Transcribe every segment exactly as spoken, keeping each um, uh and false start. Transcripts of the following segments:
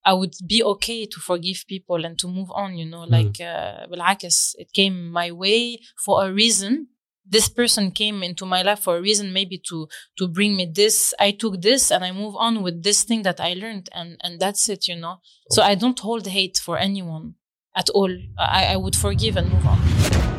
I would be okay to forgive people and to move on, you know, like, uh, بالعكس, it came my way for a reason. This person came into my life for a reason, maybe to, to bring me this. I took this and I move on with this thing that I learned, and, and that's it, you know. So I don't hold hate for anyone at all. I, I would forgive and move on.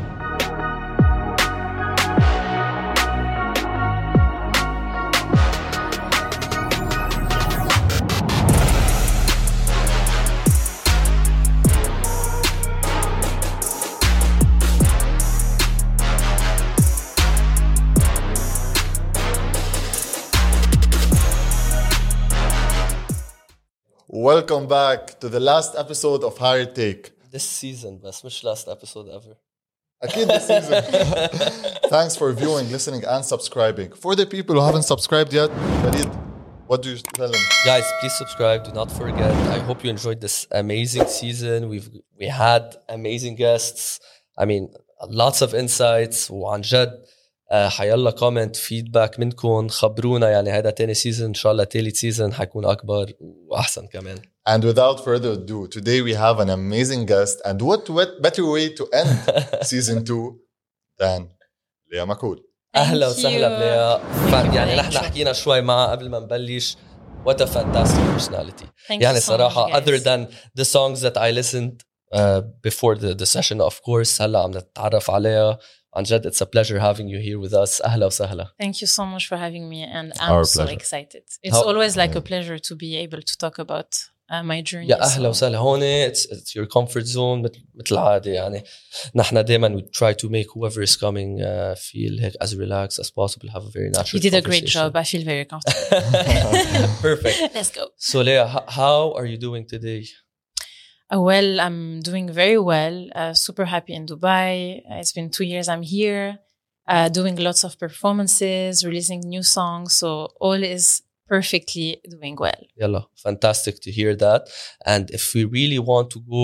Welcome back to the last episode of Higher Take. This season, بس مش last episode ever. أكيد this season. Thanks for viewing, listening, and subscribing. For the people who haven't subscribed yet, Farid, what do you tell them? Guys, please subscribe. Do not forget. I hope you enjoyed this amazing season. We've we had amazing guests. I mean, lots of insights. وعن جد حيلا comment feedback منكم. خبرونا يعني هذا تاني season إن شاء الله تالت season حيكون أكبر وأحسن كمان. And without further ado, today we have an amazing guest, and what, what better way to end season two than Leah Makhoul. أهلا وسهلا بليا. يعني نحن حكينا شوي معها قبل ما نبلش. What a fantastic personality. Thank يعني you so صراحة much, other than the songs that I listened uh, before the, the session, of course, هلا عم نتعرف عليها. عن جد, it's a pleasure having you here with us. أهلا وسهلا. Thank you so much for having me, and I'm Our so pleasure. excited. It's How- always like a pleasure to be able to talk about uh, my journey. يا أهلا so- وسهلا. هون it's, it's your comfort zone مثل مثل العادة. يعني نحن دائما we try to make whoever is coming uh, feel هيك as relaxed as possible, have a very natural You did a great conversation. job. I feel very comfortable. Perfect. Let's go. So Leah, h- how are you doing today? Uh, well, I'm doing very well. Uh, super happy in Dubai. Uh, it's been two years I'm here, uh, doing lots of performances, releasing new songs. So all is perfectly doing well. Yalla, fantastic to hear that. And if we really want to go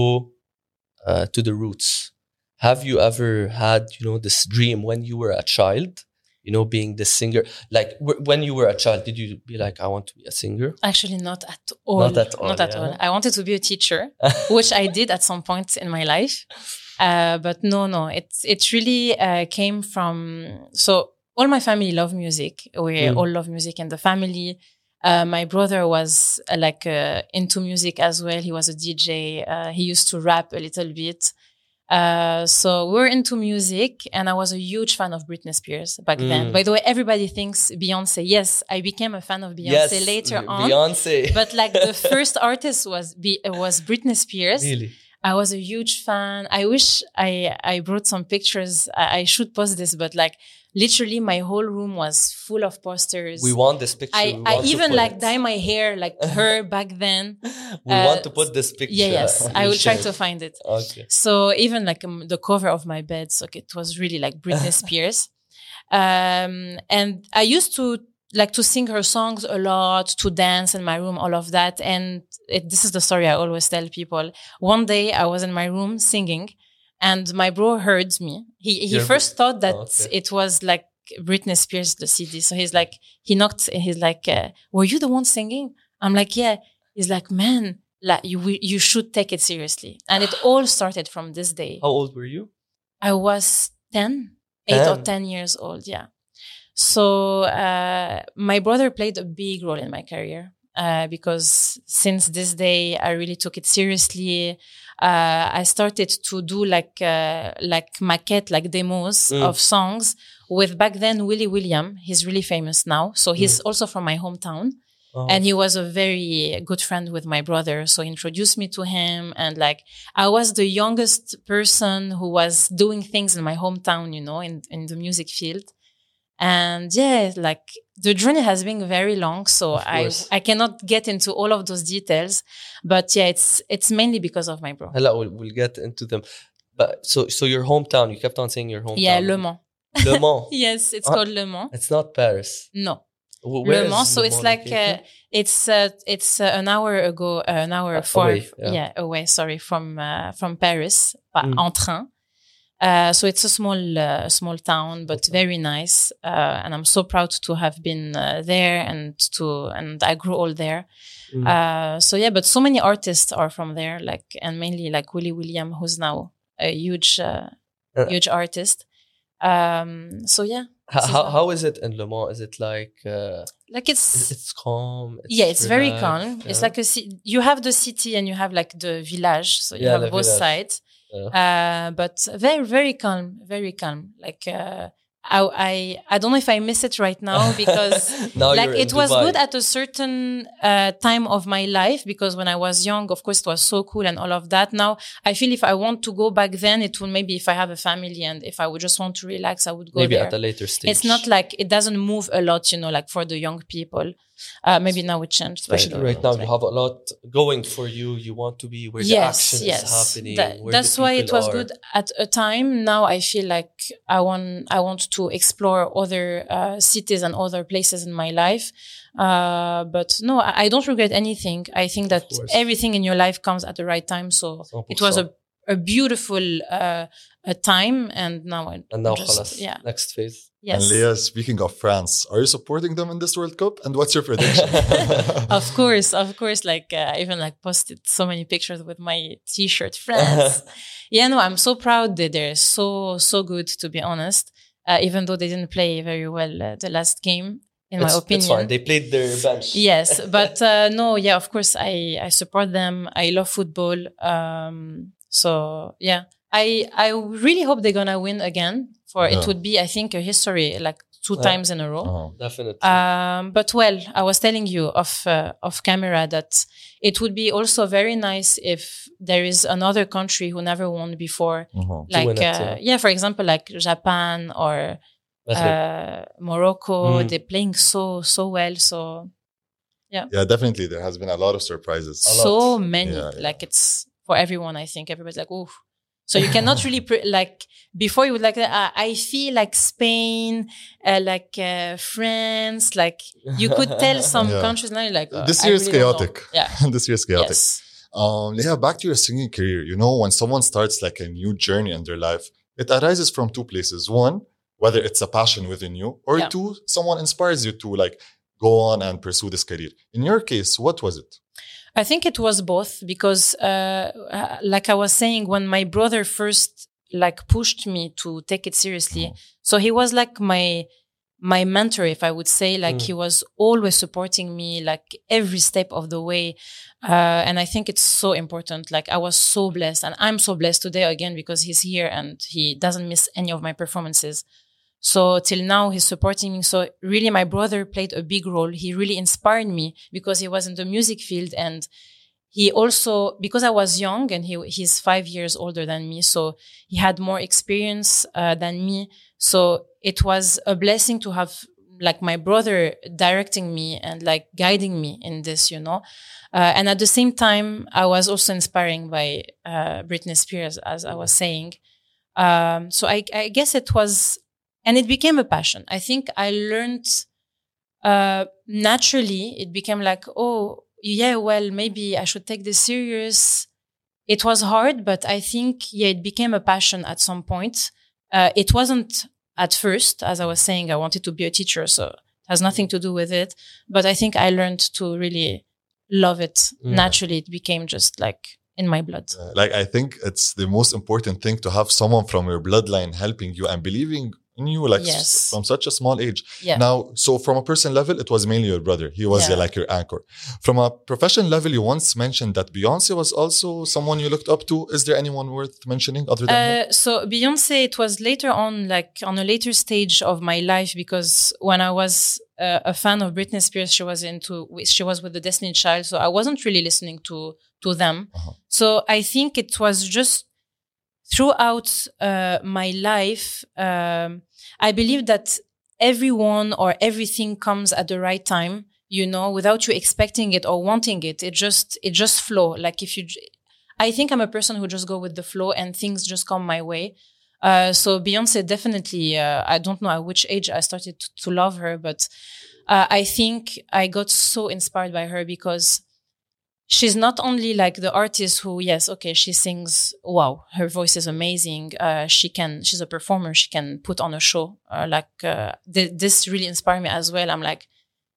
uh, to the roots, have you ever had, you know, this dream when you were a child, you know, being the singer? Like w- when you were a child, did you be like, I want to be a singer? Actually, not at all. Not at all, Not at yeah. all. I wanted to be a teacher, which I did at some point in my life. Uh, but no, no, it, it really uh, came from... So all my family love music. We Mm. all love music in the family. Uh, my brother was uh, like uh, into music as well. He was a D J. Uh, he used to rap a little bit. Uh, so we were into music, and I was a huge fan of Britney Spears back then. Mm. By the way, everybody thinks Beyonce. Yes, I became a fan of Beyonce later on. Beyonce. But like the first artist was Be- was Britney Spears. Really? I was a huge fan. I wish I I brought some pictures. I, I should post this, but like literally my whole room was full of posters. We want this picture. I, We I want to even put like it. dye my hair like her back then. We uh, want to put this picture. Yeah, yes, I will try share to it. find it. Okay. So even like um, the cover of my bed, so it was really like Britney Spears. Um, and I used to like to sing her songs a lot, to dance in my room, all of that. And it, this is the story I always tell people. One day I was in my room singing, and my bro heard me. He he Your- first thought that Oh, okay. it was like Britney Spears, the C D. So he's like, he knocked, he's like, uh, were you the one singing? I'm like, yeah. He's like, man, like you we- you should take it seriously. And it all started from this day. How old were you? I was ten, eight or ten. ten years old. Yeah. So uh, my brother played a big role in my career uh, because since this day I really took it seriously. Uh, I started to do like uh, like maquette, like demos Mm. of songs with back then Willie William. He's really famous now, so he's also from my hometown. Oh. And he was a very good friend with my brother. So he introduced me to him. And like, I was the youngest person who was doing things in my hometown, you know, in, in the music field. And yeah, like the journey has been very long. So Of I, course. I cannot get into all of those details, but yeah, it's, it's mainly because of my bro. Hella, we'll, we'll get into them. But so, so your hometown, you kept on saying your hometown. Yeah, Le Mans. Le Mans. Yes, it's Ah. called Le Mans. It's not Paris. No. Wh- where Le is Mans. So Le it's Mans like, uh, located? it's, uh, it's uh, an hour ago, uh, an hour Uh, for, away, yeah. yeah, away, sorry, from, uh, from Paris, pas Mm. en train. Uh, so it's a small, uh, small town, but very nice. Uh, and I'm so proud to have been uh, there and to, and I grew all there. Mm. Uh, so yeah, but so many artists are from there, like, and mainly like Willie William, who's now a huge, uh, Uh, huge artist. Um, so yeah. How, this is how, what- how is it in Le Mans? Is it like, uh, Like it's, is it's calm? yeah, it's very relaxed, calm. It's yeah? like a, ci- you have the city and you have like the village. So you Yeah, have the both village. sides. Yeah. Uh, but very, very calm, very calm. Like, uh, I, I, I don't know if I miss it right now because Now like you're in it was Dubai. good at a certain uh, time of my life because when I was young, of course, it was so cool and all of that. Now I feel if I want to go back then, it will maybe if I have a family and if I would just want to relax, I would go Maybe there. at a later stage. It's not like it doesn't move a lot, you know, like for the young people. Uh, maybe now it changed. but I Especially don't right know. now, you have a lot going for you. You want to be where the Yes, action yes. is happening. That- where that's the why it people was are. good at a time. Now I feel like I want I want to explore other uh, cities and other places in my life. Uh, but no, I, I don't regret anything. I think that course. everything in your life comes at the right time. So one hundred it was a percent. a beautiful uh, a time, and now I And now, just, خلاص, yeah, next phase. yes. And Leah, speaking of France, are you supporting them in this World Cup? And what's your prediction? Of course, of course. Like uh, I even like posted so many pictures with my T-shirt, France. Yeah, no, I'm so proud that they're so so good. To be honest, uh, even though they didn't play very well uh, the last game, in it's, my opinion. It's fine. They played their bench. Yes, but uh, no, yeah, of course, I I support them. I love football. Um, so yeah, I I really hope they're gonna win again. For Yeah. it would be, I think, a history like two Yeah. times in a row. Oh. Definitely. Um, but well, I was telling you off uh, off camera that it would be also very nice if there is another country who never won before, Mhm. like win it, uh, yeah. yeah, for example, like Japan or Maghreb. uh, Morocco. Mm. They're playing so so well. So Yeah, definitely. There has been a lot of surprises. A lot. so many, Yeah, yeah. like it's for everyone. I think everybody's like, ooh. So you cannot really pre- like before you would like uh, I feel like Spain, uh, like uh, France, like you could tell some Yeah. countries now. You're like uh, This I year is really don't know. chaotic. Yeah. This year is chaotic. Yes. Um, Leah, back to your singing career. You know, when someone starts like a new journey in their life, it arises from two places. One, whether it's a passion within you, or Yeah. two, someone inspires you to like go on and pursue this career. In your case, what was it? I think it was both because, uh, uh, like I was saying, when my brother first like pushed me to take it seriously, so he was like my my mentor, if I would say. Like Mm. he was always supporting me, like every step of the way, uh, and I think it's so important. Like I was so blessed, and I'm so blessed today again because he's here and he doesn't miss any of my performances. So till now, he's supporting me. So really, my brother played a big role. He really inspired me because he was in the music field. And he also, because I was young and he he's five years older than me. So he had more experience uh, than me. So it was a blessing to have like my brother directing me and like guiding me in this, you know. Uh, and at the same time, I was also inspiring by uh, Britney Spears, as I was saying. Um, so I, I guess it was... And it became a passion. I think I learned uh, naturally. It became like, oh, yeah, well, maybe I should take this serious. It was hard, but I think, yeah, it became a passion at some point. Uh, it wasn't at first, as I was saying, I wanted to be a teacher, so it has nothing to do with it. But I think I learned to really love it Mm. naturally. It became just like in my blood. Uh, like, I think it's the most important thing to have someone from your bloodline helping you and believing in you, like Yes. s- from such a small age. Yeah. Now, so from a personal level, it was mainly your brother. He was Yeah. uh, like your anchor. From a professional level, you once mentioned that Beyonce was also someone you looked up to. Is there anyone worth mentioning other than her? Uh, so Beyonce, it was later on, like on a later stage of my life, because when I was uh, a fan of Britney Spears, she was into, she was with the Destiny Child. So I wasn't really listening to, to them. Uh-huh. So I think it was just throughout uh, my life, um, I believe that everyone or everything comes at the right time, you know, without you expecting it or wanting it. It just, it just flow. Like if you, j- I think I'm a person who just go with the flow and things just come my way. Uh, so Beyonce definitely, uh, I don't know at which age I started to, to love her, but uh, I think I got so inspired by her because she's not only like the artist who, yes, okay, she sings, wow, her voice is amazing. Uh, she can, she's a performer. She can put on a show. Uh, like, uh, th- this really inspired me as well. I'm like,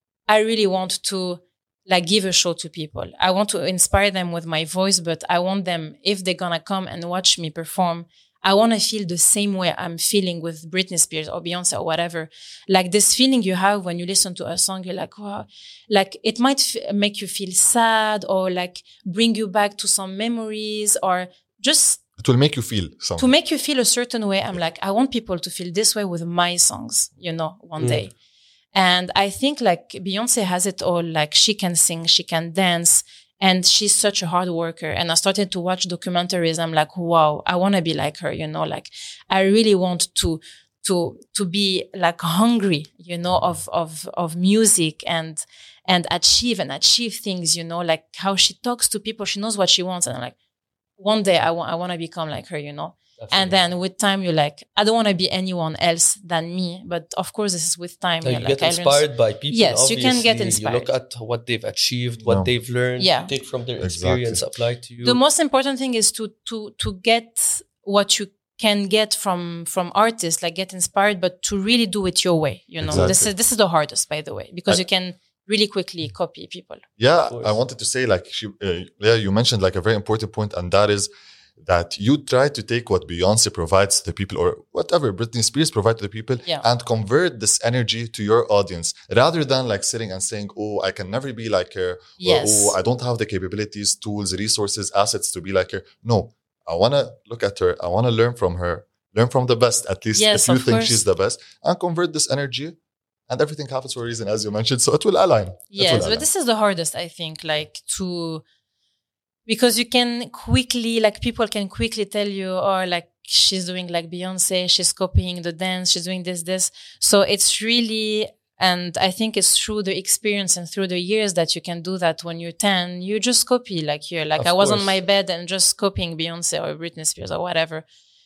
I really want to like give a show to people. I want to inspire them with my voice, but I want them, if they're gonna come and watch me perform, I want to feel the same way I'm feeling with Britney Spears or Beyonce or whatever. Like this feeling you have when you listen to a song, you're like, wow, like it might f- make you feel sad or like bring you back to some memories or just It will make you feel something. to make you feel a certain way. I'm like, I want people to feel this way with my songs, you know, one Mm. day. And I think like Beyonce has it all. Like she can sing, she can dance. And she's such a hard worker. And I started to watch documentaries. I'm like, wow, I want to be like her, you know, like I really want to, to, to be like hungry, you know, of, of, of music and, and achieve and achieve things, you know, like how she talks to people. She knows what she wants. And I'm like, one day I want, I want to become like her, you know. Definitely. And then with time, you're like, I don't want to be anyone else than me. But of course, this is with time. So you you're get like, I learned- inspired by people. Yes, you can get obviously. inspired. You look at what they've achieved, what No. they've learned, Yeah. you take from their Exactly. experience, apply to you. The most important thing is to to to get what you can get from from artists, like get inspired, but to really do it your way. You know, this Exactly. is this is the hardest, by the way, because I- you can really quickly copy people. Yeah, Of course. I wanted to say, like, she, uh, yeah, you mentioned like a very important point, and that is that you try to take what Beyonce provides to the people, or whatever Britney Spears provide to the people, Yeah. and convert this energy to your audience, rather than like sitting and saying, "Oh, I can never be like her," Yes. or "Oh, I don't have the capabilities, tools, resources, assets to be like her." No, I want to look at her. I want to learn from her, learn from the best. At least Yes, if you of think course. she's the best, and convert this energy. And everything happens for a reason, as you mentioned. So it will align. It will Yes, align. but this is the hardest, I think, like to, because you can quickly, like people can quickly tell you, or like she's doing like Beyonce, she's copying the dance, she's doing this, this. So it's really, and I think it's through the experience and through the years that you can do that. When you're ten, you just copy, like you're like, Of I was course. on my bed and just copying Beyonce or Britney Spears or whatever.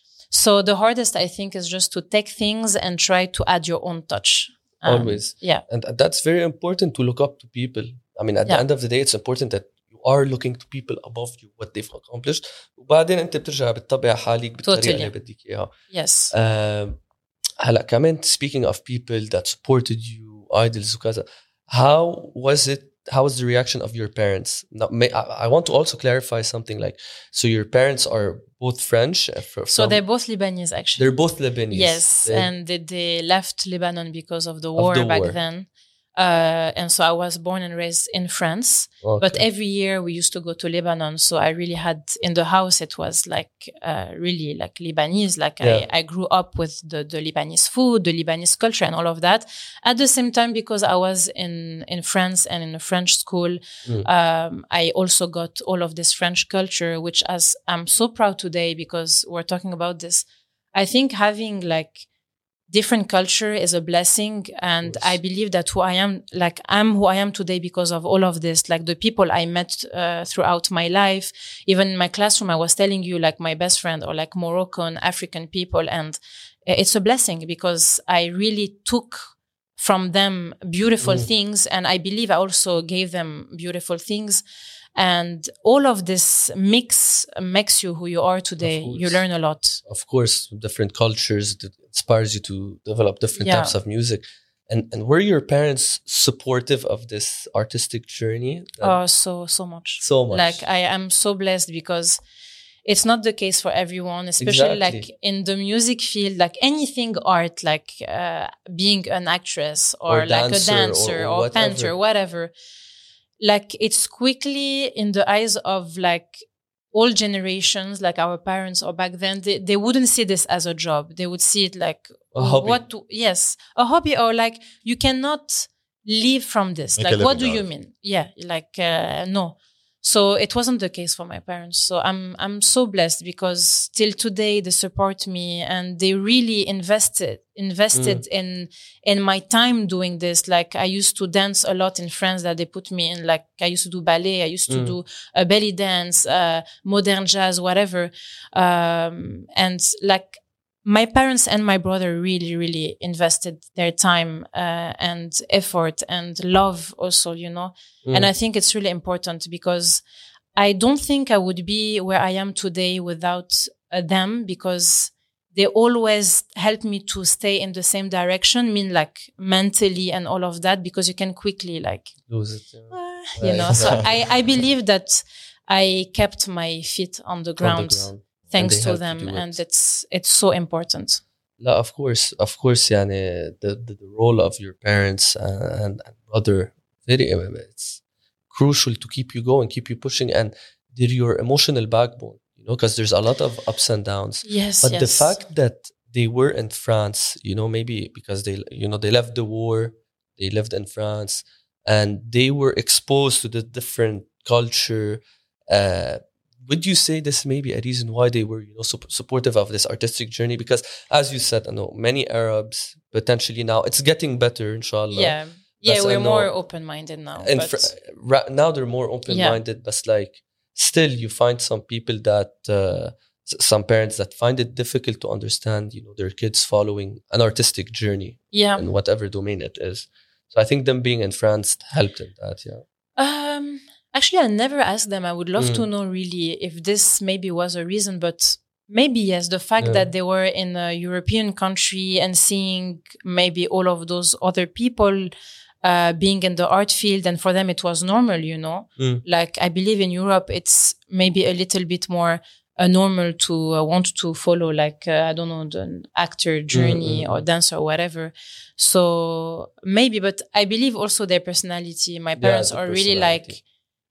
So the hardest, I think, is just to take things and try to add your own touch. Um, Always. Yeah. And that's very important to look up to people. I mean, at the Yeah. end of the day, it's important that you are looking to people above you, what they've accomplished. وبعدين انت بترجع بتطبع حالك بالطريقة Totally. اللي بدك اياها. Yes. Um, هلا كمان speaking of people that supported you, idols وكذا, how was it? How was the reaction of your parents? Now, may, I, I want to also clarify something. Like, so your parents are both French. uh, fr- So from- they're both Lebanese, actually. they're both Lebanese. Yes, They- and they, they left Lebanon because of the war the back war. then. Uh, and so I was born and raised in France. Okay. But every year we used to go to Lebanon. So I really had, in the house, it was like uh, really like Lebanese. Like Yeah. I, I grew up with the, the Lebanese food, the Lebanese culture and all of that. At the same time, because I was in, in France and in a French school, Mm. um, I also got all of this French culture, which as I'm so proud today because we're talking about this. I think having like different culture is a blessing. And Yes. I believe that who I am, like I'm who I am today because of all of this, like the people I met uh, throughout my life. Even in my classroom, I was telling you like my best friend or like Moroccan, African people. And it's a blessing because I really took from them beautiful Mm. things. And I believe I also gave them beautiful things. And all of this mix makes you who you are today. course. You learn a lot. Of course, different cultures that inspires you to develop different Yeah. types of music. And and were your parents supportive of this artistic journey? That- Oh, so, so much. so much. Like I am so blessed because it's not the case for everyone, especially Exactly. like in the music field, like anything art, like uh, being an actress or, Or like dancer a dancer or or, whatever. painter, whatever. Like it's quickly in the eyes of like all generations, like our parents or back then, they, they wouldn't see this as a job. They would see it like A hobby. what? do- yes, a hobby, or like you cannot live from this. Make a Like, what do living you out of it. mean? Yeah, like uh, no. So it wasn't the case for my parents. So I'm I'm so blessed because till today they support me and they really invested invested in in my time doing this. Like I used to dance a lot in France that they put me in. Like I used to do ballet, I used to Mm. do a belly dance, uh, modern jazz, whatever. Um, and like my parents and my brother really, really invested their time uh, and effort and love also, you know. Mm. And I think it's really important because I don't think I would be where I am today without uh, them, because they always help me to stay in the same direction, mean like mentally and all of that, because you can quickly like lose it. Yeah. uh, you know. So I, I believe that I kept my feet on the ground, On the ground. thanks And they to helped them, you do it. and it's it's so important. No, of course, of course, yani, the, the the role of your parents and, and brother, very it's crucial to keep you going, keep you pushing, and they're your emotional backbone, you know, because there's a lot of ups and downs. Yes, But yes. the fact that they were in France, you know, maybe because they, you know, they left the war, they lived in France, and they were exposed to the different culture. Uh, would you say this may be a reason why they were, you know, sup- supportive of this artistic journey? Because, as you said, I know many Arabs potentially now it's getting better, inshallah. Yeah, yeah, But I we're know- more open-minded now. And but fr- ra- now they're more open-minded, but like still you find some people that uh, s- some parents that find it difficult to understand, you know, their kids following an artistic journey yeah, in whatever domain it is. So I think them being in France helped in that. Yeah. Um, actually, I never asked them. I would love Mm. to know really if this maybe was a reason, but maybe yes. The fact Yeah. that they were in a European country and seeing maybe all of those other people uh, being in the art field, and for them it was normal, you know. Mm. Like I believe in Europe, it's maybe a little bit more uh, normal to uh, want to follow, like uh, I don't know, the actor journey mm, or mm. dancer or whatever. So maybe, but I believe also their personality. My Yeah, parents the are really personality. like,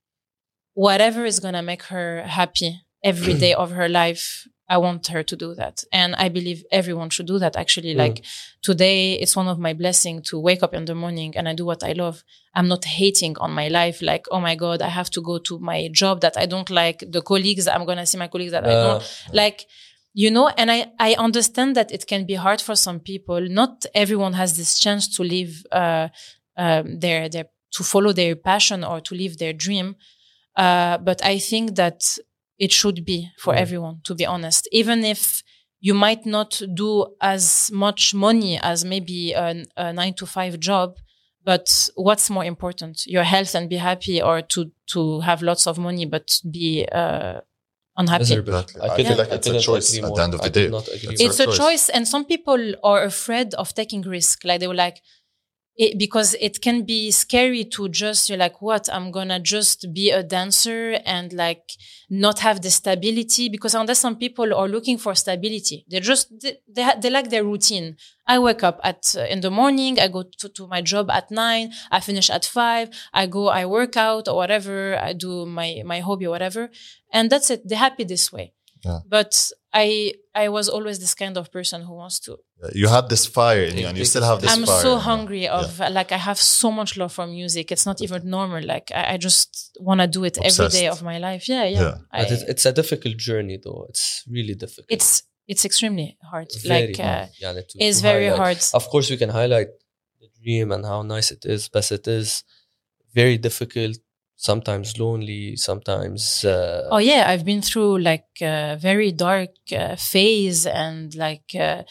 whatever is gonna make her happy every day of her life, I want her to do that. And I believe everyone should do that, actually. Mm. Like today, it's one of my blessings to wake up in the morning and I do what I love. I'm not hating on my life. Like, oh my God, I have to go to my job that I don't like, the colleagues, I'm going to see my colleagues that I Uh, don't like, you know, and I, I understand that it can be hard for some people. Not everyone has this chance to live, uh, um, their, their, to follow their passion or to live their dream. Uh, but I think that it should be for Mm. everyone, to be honest. Even if you might not do as much money as maybe a, a nine to five job, but what's more important, your health and be happy, or to, to have lots of money, but be, uh, unhappy. Miserable. Exactly. I couldn't- feel like it's a couldn't choice agree at more. the end of the I could day. not agree It's more. It's a choice. choice. And some people are afraid of taking risk. Like they were like, it, because it can be scary to just, you're like, what? I'm gonna just be a dancer and like not have the stability, because unless some people are looking for stability, they just, they, they, ha- they like their routine. I wake up at, uh, in the morning, I go to, to my job at nine, I finish at five, I go, I work out or whatever, I do my, my hobby or whatever. And that's it. They're happy this way. Yeah. But I, I was always this kind of person who wants to, You had this fire in you, and you still have this I'm fire. so in you. hungry of like I have so much love for music. It's not even normal. Like I, I just want to do it every day Obsessed. of my life. Yeah, yeah. Yeah. I, But it's, it's a difficult journey, though. It's really difficult. it's it's extremely hard. Very like uh, hard. Yeah, to- it's to very highlight. hard. Of course, we can highlight the dream and how nice it is, but it is very difficult. Sometimes lonely. Sometimes. Uh, Oh yeah, I've been through like a very dark uh, phase, and like uh,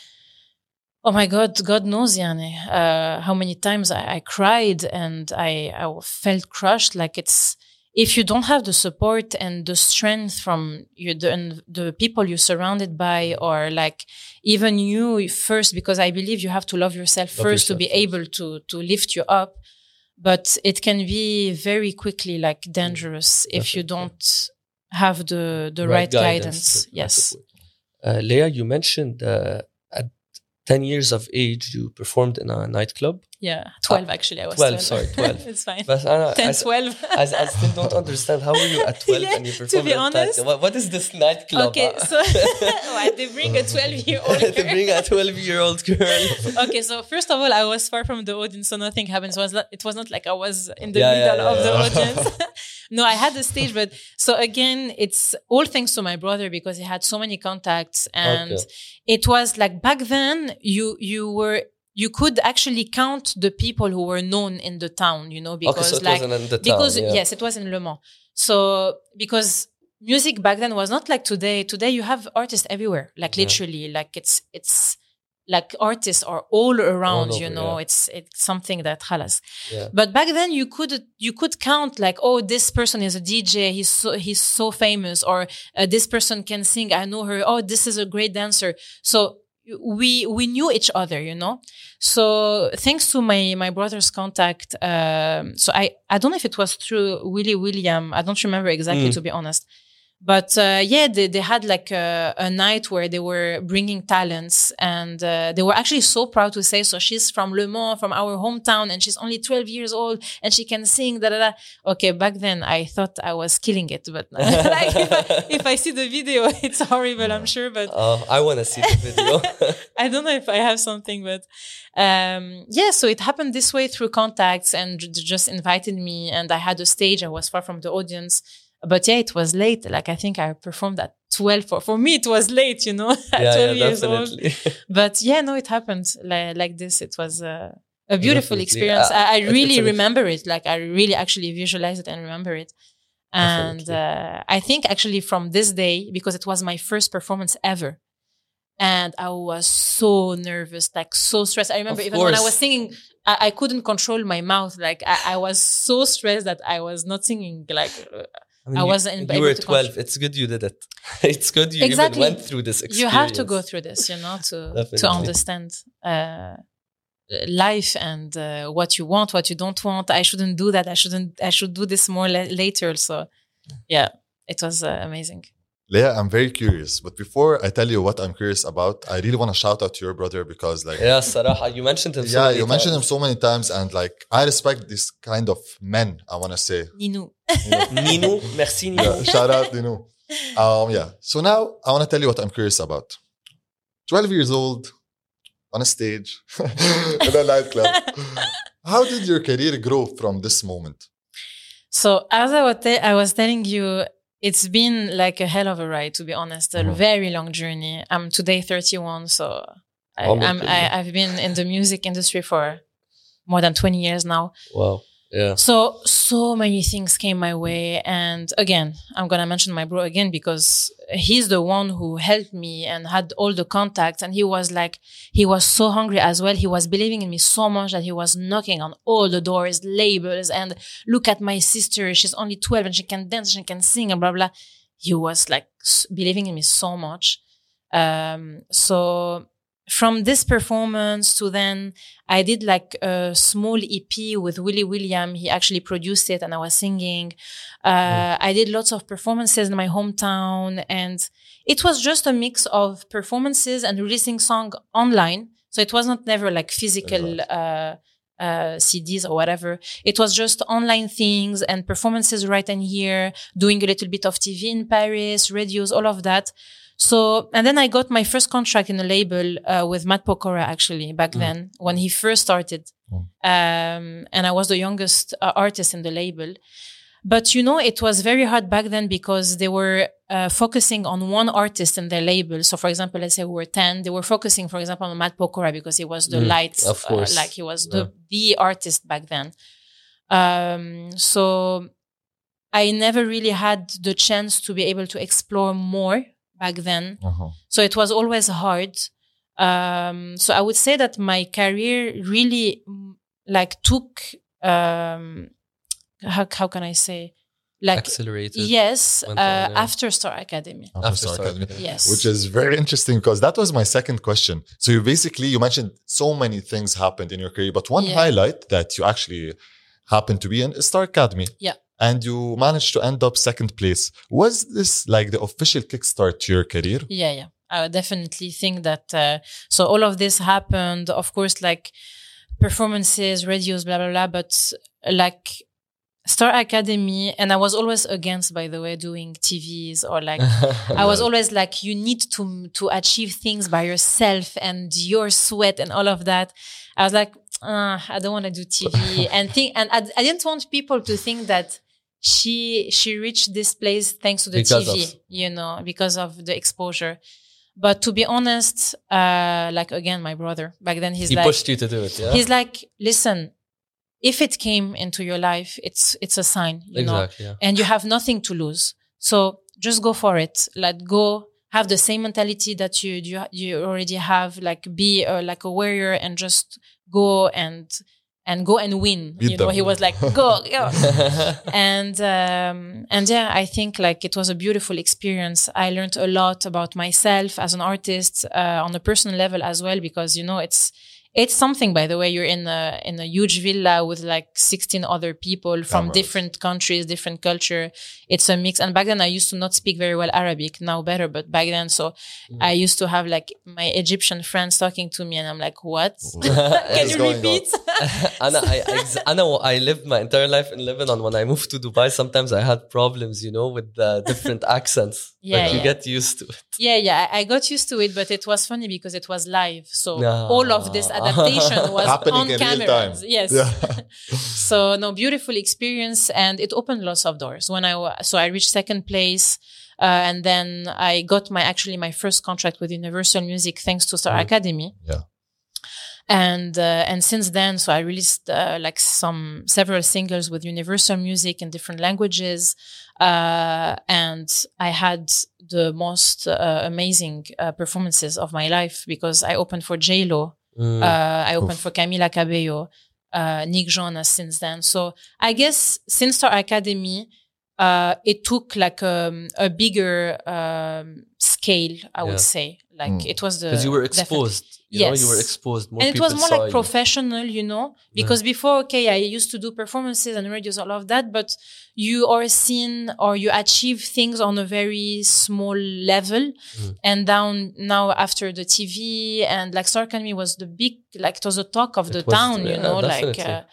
oh my God, God knows, Yani, uh, how many times I, I cried and I, I felt crushed. Like it's, if you don't have the support and the strength from you, the, the people you're surrounded by, or like even you first, because I believe you have to love yourself Love first to yourself be first. able to, to lift you up. But it can be very quickly like dangerous if you Definitely. don't have the, the right, guidance. Yes. Uh, Leah, you mentioned uh, at ten years of age, you performed in a nightclub. Yeah. twelve, actually. I was twelve, twelve. sorry, twelve. It's fine. But I, ten, I, twelve. I, I still don't understand how were you at twelve Yeah, and you to performed be at honest- night- What, what is this nightclub? Okay, so why they bring a twelve-year-old to girl. bring a twelve-year-old girl. Okay, so first of all, I was far from the audience, so nothing happened. So it was not, it was not like I was in the Yeah, yeah, middle yeah, of yeah. the audience. No, I had the stage, but so again, it's all thanks to my brother because he had so many contacts, and Okay. it was like back then you you were you could actually count the people who were known in the town, you know, because Okay, so it like wasn't in the town, because yeah. yes, it was in Le Mans. So because music back then was not like today. Today you have artists everywhere, like Yeah. literally, like it's it's like artists are all around. All you over, know, yeah. it's it's something that halas. Yeah. But back then you could you could count like, oh, this person is a D J. He's so he's so famous, or uh, this person can sing. I know her. Oh, this is a great dancer. So we we knew each other, you know. So thanks to my my brother's contact, um, so I I don't know if it was through Willie William. I don't remember exactly, Mm. to be honest. But uh, yeah, they, they had like a, a night where they were bringing talents, and uh, they were actually so proud to say, so she's from Le Mans, from our hometown, and she's only twelve years old, and she can sing, da da da. Okay, back then I thought I was killing it, but like, if, I, if I see the video, it's horrible, I'm sure, but Oh, I want to see the video. I don't know if I have something, but um, yeah, so it happened this way through contacts, and j- just invited me, and I had a stage. I was far from the audience. But yeah, it was late. Like, I think I performed at twelve. For, for me, it was late, you know, at yeah, twelve yeah, years definitely. old. But yeah, no, it happened like, like this. It was uh, a beautiful Definitely. experience. Uh, I, I it's- really it's an- remember it. Like, I really actually visualize it and remember it. And uh, I think actually from this day, because it was my first performance ever, and I was so nervous, like so stressed. I remember Of even when I course. was singing, I, I couldn't control my mouth. Like, I, I was so stressed that I was not singing. Like, uh, I, mean, I you- wasn't You able were to twelve. control- It's good you did it. It's good you Exactly. even went through this experience. you have to go through this, you know, to to Definitely. understand uh, life and uh, what you want, what you don't want. I shouldn't do that. I shouldn't. I should do this more la- later. So, yeah, it was uh, amazing. Leah, I'm very curious. But before I tell you what I'm curious about, I really want to shout out to your brother because, like, Yeah, Saraha, you mentioned him. so yeah, many you mentioned him times. so many times, and like, I respect this kind of men. I want to say, Ninou. you know, Nino, merci Nino. yeah, shout out, you know. Um, yeah. So now I want to tell you what I'm curious about. twelve years old, on a stage, in a nightclub. How did your career grow from this moment? So as I was, te- I was telling you, it's been like a hell of a ride, to be honest. A Mhm. very long journey. I'm today thirty-one, so I, Oh my I'm, I, goodness. I've been in the music industry for more than twenty years now. Wow. Yeah. So, so many things came my way. And again, I'm going to mention my bro again because he's the one who helped me and had all the contacts. And he was like, he was so hungry as well. He was believing in me so much that he was knocking on all the doors, labels, and look at my sister. She's only twelve and she can dance, she can sing and blah, blah. He was like s- believing in me so much. Um, so from this performance to then I did like a small E P with Willie William. He actually produced it and I was singing. Uh, I did lots of performances in my hometown and it was just a mix of performances and releasing song online. So it was not never like physical, uh, uh, C Ds or whatever. It was just online things and performances right in here, doing a little bit of T V in Paris, radios, all of that. So, and then I got my first contract in a label, uh, with Matt Pokora actually back Mm. then when he first started. Mm. Um, and I was the youngest uh, artist in the label. But you know, it was very hard back then because they were, uh, focusing on one artist in their label. So for example, let's say we were ten, they were focusing, for example, on Matt Pokora because he was the Mm, light, of course. uh, like he was the, the artist back then. Um, so I never really had the chance to be able to explore more back then. Uh-huh. So it was always hard. Um, so I would say that my career really mm, like took, um, how, how can I say? Like, Accelerated. yes, uh, went on, yeah. after Star Academy. After After Star Star Academy. Academy. Yes. Which is very interesting because that was my second question. So you basically, you mentioned so many things happened in your career, but one Yeah. highlight that you actually happened to be in is Star Academy. Yeah. And you managed to end up second place. Was this like the official kickstart to your career? Yeah, yeah. I would definitely think that. Uh, so all of this happened, of course, like performances, radios, blah, blah, blah. But like Star Academy, and I was always against, by the way, doing T Vs or like, I was always like, you need to, to achieve things by yourself and your sweat and all of that. I was like, uh, I don't want to do T V and think, and I, I didn't want people to think that she, she reached this place thanks to the Because T V, of- you know, because of the exposure. But to be honest, uh, like again, my brother back then, he's he like, pushed you to do it, yeah? he's like, listen, if it came into your life, it's, it's a sign, you know, Exactly, yeah. and you have nothing to lose. So just go for it. Like go have the same mentality that you you, you already have. Like be uh, like a warrior and just go and and go and win. Beat you know, them. he was like, go, go. and um, and yeah, I think like it was a beautiful experience. I learned a lot about myself as an artist uh, on a personal level as well, because you know it's. It's something, by the way, you're in a, in a huge villa with like sixteen other people from Cameras. different countries, different culture. It's a mix. And back then I used to not speak very well Arabic, now better, but back then, so mm. I used to have like my Egyptian friends talking to me and I'm like, what? Can you repeat? Anna, I, I, Anna, I lived my entire life in Lebanon. When I moved to Dubai, sometimes I had problems, you know, with the different accents. Yeah, but you yeah. get used to it. Yeah, yeah. I got used to it, but it was funny because it was live. So No. all of this adaptation was Happening on in real cameras. time. Yes. Yeah. So no, beautiful experience, and it opened lots of doors. When I wa- so I reached second place, uh, and then I got my actually my first contract with Universal Music thanks to Star Mm. Academy. Yeah. And uh, and since then, so I released uh, like some several singles with Universal Music in different languages, uh, and I had the most uh, amazing uh, performances of my life because I opened for J Lo, Mm. uh, I opened Oof. for Camila Cabello, uh, Nick Jonas since then. So I guess since Star Academy, uh, it took like um, a bigger um, scale, I Yeah. would say. Like Mm. it was the Because you were definitely- exposed. You know, you were Yes. exposed. More and it people was more saw like you. professional, you know, because before, okay, I used to do performances and radios, all of that, but you are seen or you achieve things on a very small level. Mm. And down now after the T V and like Star Academy was the big, like it was the talk of It the was- town, you yeah, know, like, definitely. uh,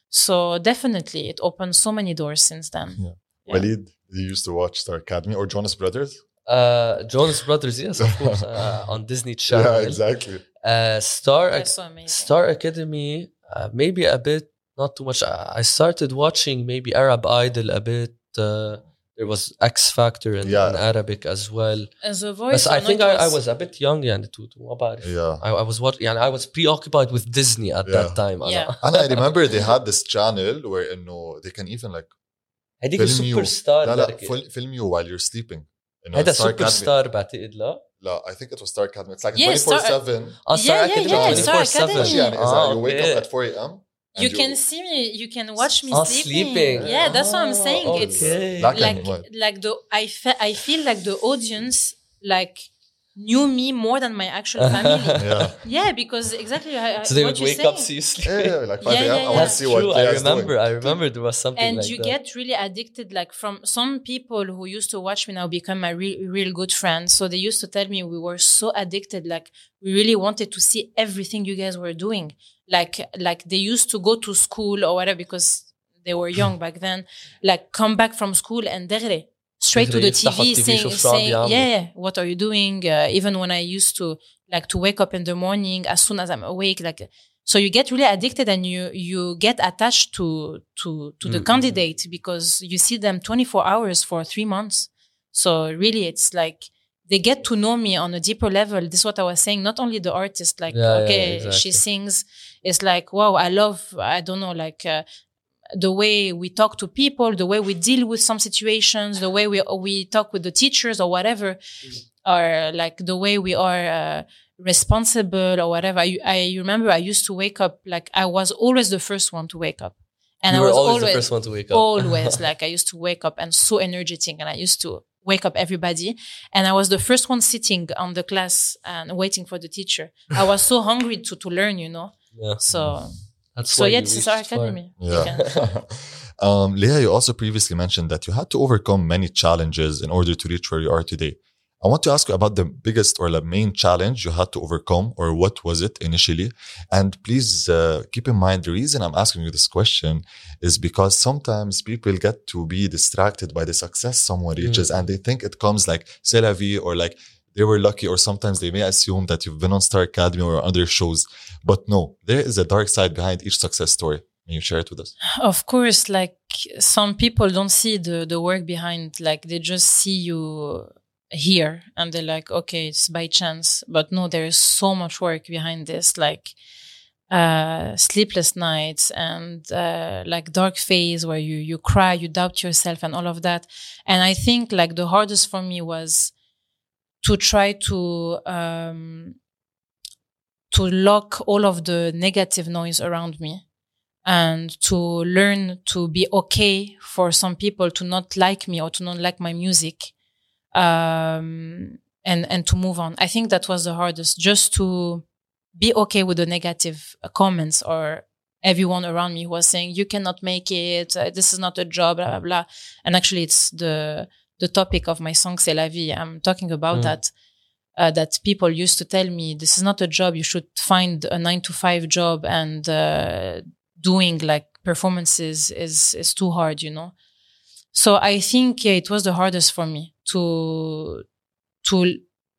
so definitely it opened so many doors since then. Yeah. Yeah. Walid, you used to watch Star Academy or Jonas Brothers? Uh, Jonas Brothers, yes, of course, uh, on Disney Channel. Yeah, exactly. Uh, Star, That's so amazing. Star Academy, uh, maybe a bit, not too much. I I started watching maybe Arab Idol a bit. Uh, there was X Factor in, Yeah. in Arabic as well. As a voice, But I or think not, I, I was- was a bit young يعني to, to ما بعرف. Yeah. I, I was what يعني I was preoccupied with Disney at Yeah. that time. Yeah. أنا. And I remember they had this channel where you know, they can even like هذيك film you. السوبر لا لا ستار fil- film you while you're sleeping. You know, هذا Star سوبر Academy. ستار بعتقد لا. لا, I think it was Star Academy. It's like Yeah, Star- twenty-four seven. اه Yeah, yeah, Academy yeah, Star twenty-four seven. Academy. يعني إذا Ah, you wake okay. up at four a.m. and You can see me, you can watch me Ah, sleeping. sleeping. Yeah, that's what I'm Ah, saying. It's okay. Black and like white. like the I fe- I feel like the audience like knew me more than my actual family. Yeah. Yeah, because exactly I, I- So they what would you're wake saying. up, see you sleep. Yeah, yeah, like five Yeah, a.m. yeah, I want yeah. to see what True, I Leah's remember. doing. I remember there was something And like you that. get really addicted. Like from some people who used to watch me now become my real, real good friends. So they used to tell me we were so addicted. Like we really wanted to see everything you guys were doing. Like, like they used to go to school or whatever because they were young back then. Like come back from school and دغري straight to the T يفتحوا V التي في saying, يشوفوا شو عم saying بيعملوا. yeah, yeah, what are you doing? Uh, even when I used to like to wake up in the morning, as soon as I'm awake, like, so you get really addicted and you, you get attached to, to, to the Mm. candidate because you see them twenty-four hours for three months. So really it's like, they get to know me on a deeper level. This is what I was saying. Not only the artist, like, Yeah, yeah, okay, exactly. she sings. It's like, wow, I love, I don't know, like, uh, the way we talk to people, the way we deal with some situations, the way we we talk with the teachers or whatever, or like the way we are uh, responsible or whatever. I, I remember I used to wake up, like I was always the first one to wake up. And you I were was always, always, the first one to wake up. always like I used to wake up and so energetic and I used to wake up everybody. And I was the first one sitting on the class and waiting for the teacher. I was so hungry to, to learn, you know? Yeah. So, That's so why yeah, you this is our reached far. academy. You Yeah. can- um, Leah, you also previously mentioned that you had to overcome many challenges in order to reach where you are today. I want to ask you about the biggest or the main challenge you had to overcome, or what was it initially? And please uh, keep in mind, the reason I'm asking you this question is because sometimes people get to be distracted by the success someone reaches and they think it comes like c'est la vie or like they were lucky, or sometimes they may assume that you've been on Star Academy or other shows. But no, there is a dark side behind each success story. Can you share it with us? Of course, like some people don't see the, the work behind, like they just see you here and they're like, okay, it's by chance. But no, there is so much work behind this. Like uh, sleepless nights and uh, like dark phase where you you cry, you doubt yourself, and all of that. And I think like the hardest for me was to try to um, to lock all of the negative noise around me, and to learn to be okay for some people to not like me or to not like my music, um, and and to move on. I think that was the hardest, just to be okay with the negative comments or everyone around me who was saying, you cannot make it, uh, this is not a job, blah, blah, blah. And actually it's the, the topic of my song, C'est la vie. I'm talking about mm. that, uh, that people used to tell me, this is not a job. You should find a nine to five job, and, uh, doing like performances is, is too hard, you know? So I think yeah, it was the hardest for me to, to,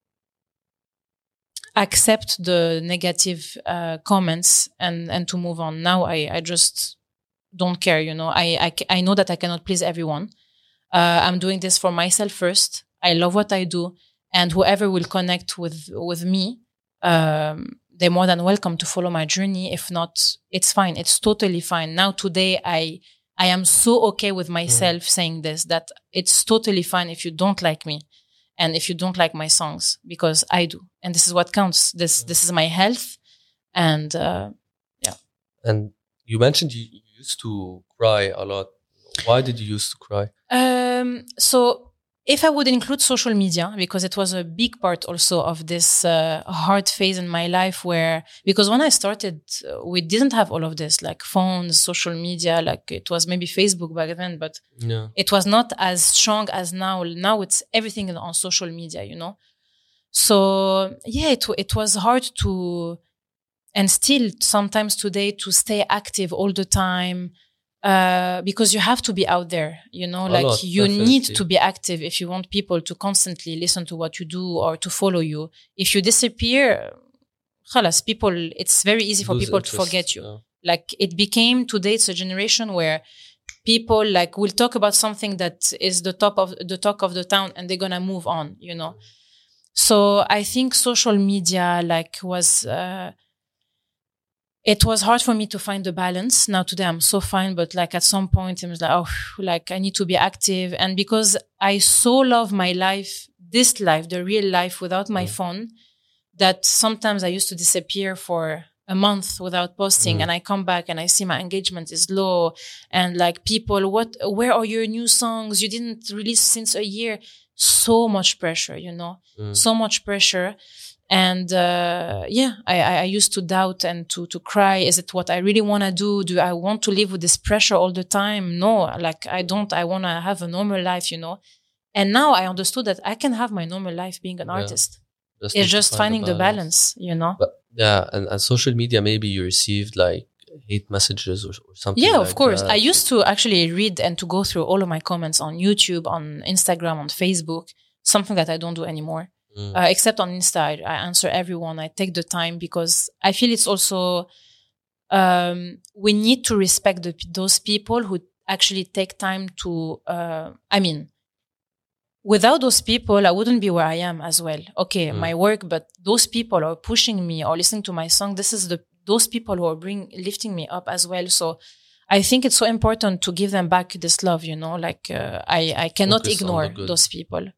accept the negative uh, comments and and to move on. Now I I just don't care, you know. I I, I know that I cannot please everyone. Uh, I'm doing this for myself first. I love what I do, and whoever will connect with with me, um, they're more than welcome to follow my journey. If not, it's fine. It's totally fine. Now today I I am so okay with myself mm. saying this, that it's totally fine if you don't like me. And if you don't like my songs, because I do, and this is what counts. This this is my health, and uh, yeah. And you mentioned you used to cry a lot. Why did you used to cry? Um, so if I would include social media, because it was a big part also of this uh, hard phase in my life, where because when I started, uh, we didn't have all of this, like phones, social media, like it was maybe Facebook back then, but yeah. It was not as strong as now. Now it's everything on social media, you know. So yeah, it it was hard to, and still sometimes today, to stay active all the time. Uh, because you have to be out there, you know, a like lot, you definitely. Need to be active if you want people to constantly listen to what you do or to follow you. If you disappear, khalas, people, it's very easy for Lose people interest, to forget you. Yeah. Like it became, today it's a generation where people like will talk about something that is the top of the talk of the town, and they're gonna move on, you know. So I think social media like was, uh, it was hard for me to find the balance. Now today I'm so fine, but like at some point I was like, oh, like I need to be active. And because I so love my life, this life, the real life without my mm. phone, that sometimes I used to disappear for a month without posting, mm. and I come back and I see my engagement is low, and like people, what, where are your new songs? You didn't release since a year. So much pressure, you know, mm. so much pressure. And, uh, yeah, I, I used to doubt and to, to cry. Is it what I really want to do? Do I want to live with this pressure all the time? No, like I don't, I want to have a normal life, you know? And now I understood that I can have my normal life being an yeah. artist. Just it's just find finding the balance. the balance, you know? But, yeah. And, and social media, maybe you received like hate messages or, or something. Yeah, like of course. that. I used to actually read and to go through all of my comments on YouTube, on Instagram, on Facebook, something that I don't do anymore. Mm. Uh, except on Insta, I, I answer everyone. I take the time because I feel it's also, um, we need to respect the, those people who actually take time to, uh, I mean, without those people, I wouldn't be where I am as well. Okay, mm. my work, but those people are pushing me or listening to my song. This is the, those people who are bring, lifting me up as well. So I think it's so important to give them back this love, you know, like, uh, I, I cannot Focus ignore those people.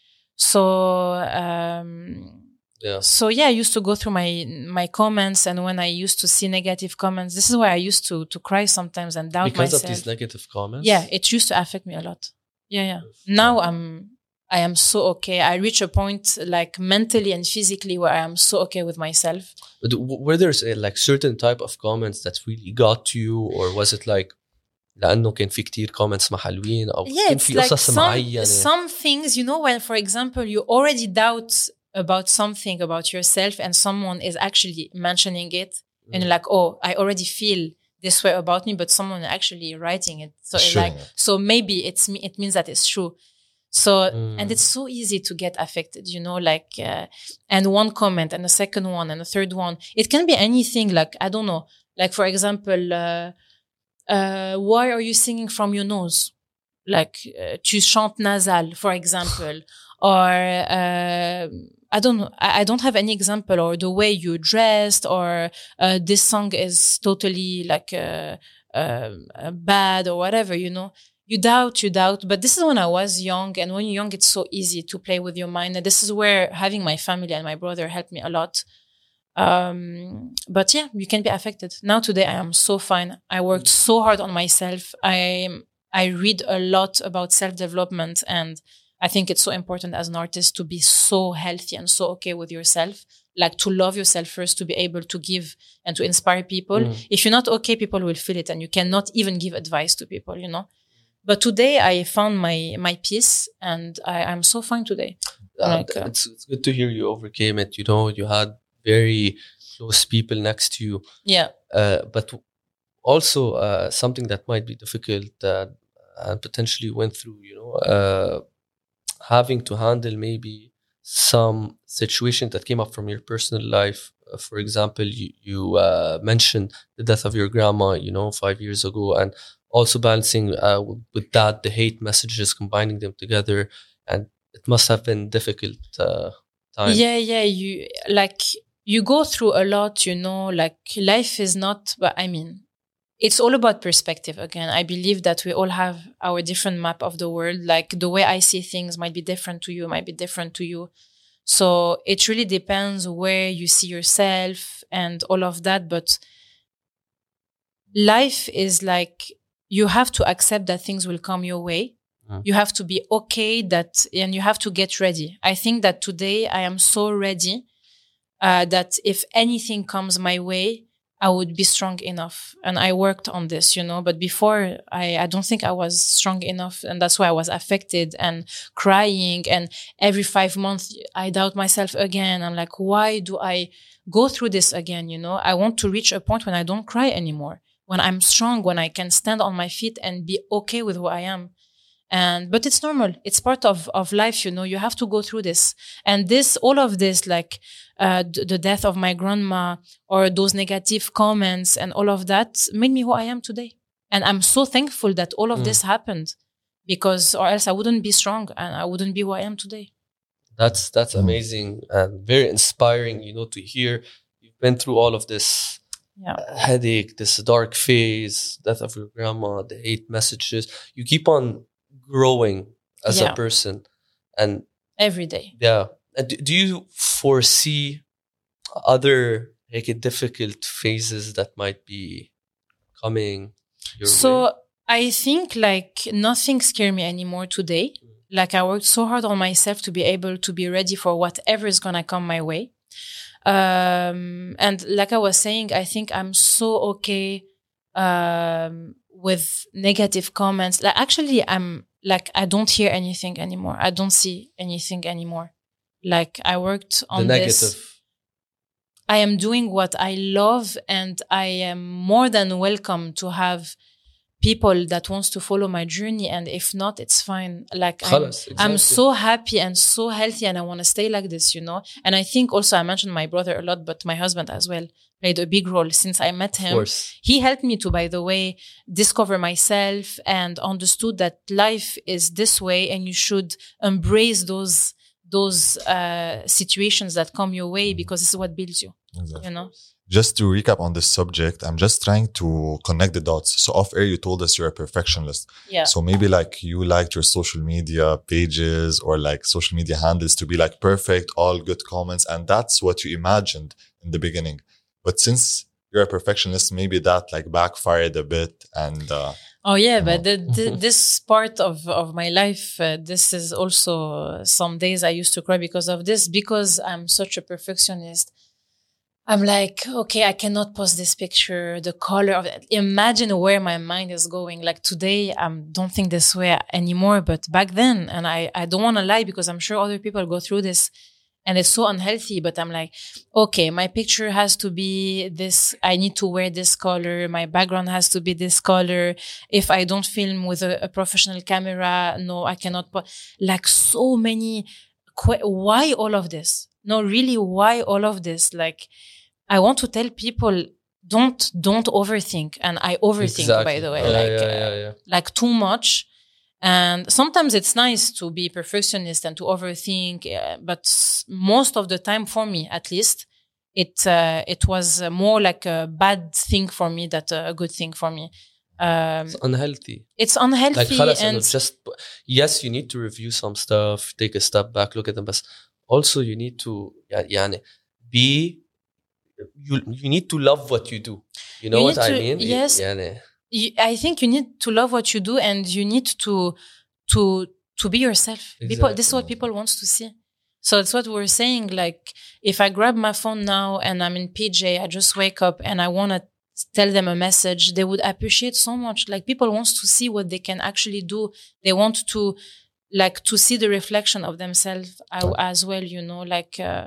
So, um, yeah. So yeah, I used to go through my, my comments, and when I used to see negative comments, this is why I used to, to cry sometimes and doubt because myself. Because of these negative comments? Yeah, it used to affect me a lot. Yeah, yeah. Now I'm, I am so okay. I reach a point like mentally and physically where I am so okay with myself. But were there like certain type of comments that really got to you, or was it like لأنه كان في كتير comments ما حلوين أو yeah, كان في قصص like معينة. Some things, you know, when for example you already doubt about something about yourself and someone is actually mentioning it mm. and you're like, oh, I already feel this way about me, but someone actually writing it. So it's like, so maybe it's it means that it's true. So, mm. and it's so easy to get affected, you know, like, uh, and one comment and a second one and a third one. It can be anything, like, I don't know, like, for example, uh, uh, why are you singing from your nose? Like, uh, tu chantes nasal, for example. or uh, I don't know, I, I don't have any example, or the way you dressed, or uh, this song is totally like uh, uh, uh, bad or whatever, you know. You doubt, you doubt. But this is when I was young, and when you're young, it's so easy to play with your mind. And this is where having my family and my brother helped me a lot. Um, but yeah, you can be affected. Now today I am so fine. I worked so hard on myself. I I read a lot about self-development, and I think it's so important as an artist to be so healthy and so okay with yourself, like to love yourself first, to be able to give and to inspire people. Mm. If you're not okay, people will feel it, and you cannot even give advice to people, you know. But today I found my my peace, and I, I'm so fine today. Uh, like, uh, it's, it's good to hear you overcame it. You know, you had very close people next to you. Yeah. Uh, but also uh, something that might be difficult uh, and potentially went through, you know, uh, having to handle maybe some situation that came up from your personal life. Uh, for example, you, you uh, mentioned the death of your grandma, you know, five years ago, and also balancing uh, with that, the hate messages, combining them together. And it must have been difficult uh, time. Yeah, yeah. You like, you go through a lot, you know, like life is not, but I mean, it's all about perspective again. I believe that we all have our different map of the world. Like the way I see things might be different to you, might be different to you. So it really depends where you see yourself and all of that. But life is like, you have to accept that things will come your way. Mm. You have to be okay that, and you have to get ready. I think that today I am so ready uh, that if anything comes my way, I would be strong enough. And I worked on this, you know, but before I, I don't think I was strong enough. And that's why I was affected and crying. And every five months, I doubt myself again. I'm like, why do I go through this again? You know, I want to reach a point when I don't cry anymore, when I'm strong, when I can stand on my feet and be okay with who I am. And, but it's normal. It's part of, of life, you know, you have to go through this. And this, all of this, like, uh, d- the death of my grandma or those negative comments and all of that made me who I am today. And I'm so thankful that all of mm. this happened, because, or else I wouldn't be strong and I wouldn't be who I am today. That's, that's amazing and very inspiring, you know, to hear you've been through all of this. Yeah. Uh, headache, this dark phase, death of your grandma, the hate messages. You keep on growing as yeah. a person, and every day. Yeah. And do, do you foresee other like difficult phases that might be coming your so way? I think like nothing scares me anymore today. Mm. Like I worked so hard on myself to be able to be ready for whatever is gonna come my way. Um, and like I was saying, I think I'm so okay, um, with negative comments. Like actually, I'm like, I don't hear anything anymore. I don't see anything anymore. Like I worked on the negative. This. I am doing what I love, and I am more than welcome to have people that wants to follow my journey, and if not, it's fine. Like I'm, exactly. I'm so happy and so healthy, and I want to stay like this, you know. And I think also I mentioned my brother a lot, but my husband as well played a big role since I met him. Of course. He helped me to, by the way, discover myself and understood that life is this way, and you should embrace those those uh, situations that come your way, because this is what builds you. Exactly. You know. Just to recap on this subject, I'm just trying to connect the dots. So off air, you told us you're a perfectionist. Yeah. So maybe like you liked your social media pages or like social media handles to be like perfect, all good comments. And that's what you imagined in the beginning. But since you're a perfectionist, maybe that like backfired a bit. And uh, oh yeah, but the, the, this part of, of my life, uh, this is also some days I used to cry because of this, because I'm such a perfectionist. I'm like, okay, I cannot post this picture, the color of it. Imagine where my mind is going. Like today, I um, don't think this way anymore, but back then, and I, I don't want to lie because I'm sure other people go through this and it's so unhealthy, but I'm like, okay, my picture has to be this, I need to wear this color. My background has to be this color. If I don't film with a, a professional camera, no, I cannot put, like so many, qu- why all of this? No, really, why all of this? Like, I want to tell people, don't, don't overthink. And I overthink, exactly. by the way, yeah, like, yeah, yeah, yeah. Uh, like too much. And sometimes it's nice to be perfectionist and to overthink, uh, but most of the time, for me at least, it uh, it was more like a bad thing for me than a good thing for me. Um, it's unhealthy. It's unhealthy. Like, خلاص, and just yes, you need to review some stuff, take a step back, look at them, but also you need to يعني, be you you need to love what you do. You know you what I to, mean? Yes. يعني, you, I think you need to love what you do, and you need to to to be yourself. Exactly. People, this is what people want to see. So it's what we're saying. Like, if I grab my phone now and I'm in P J, I just wake up and I want to tell them a message, they would appreciate so much. Like, people want to see what they can actually do. They want to, like, to see the reflection of themselves as well, you know, like. Uh,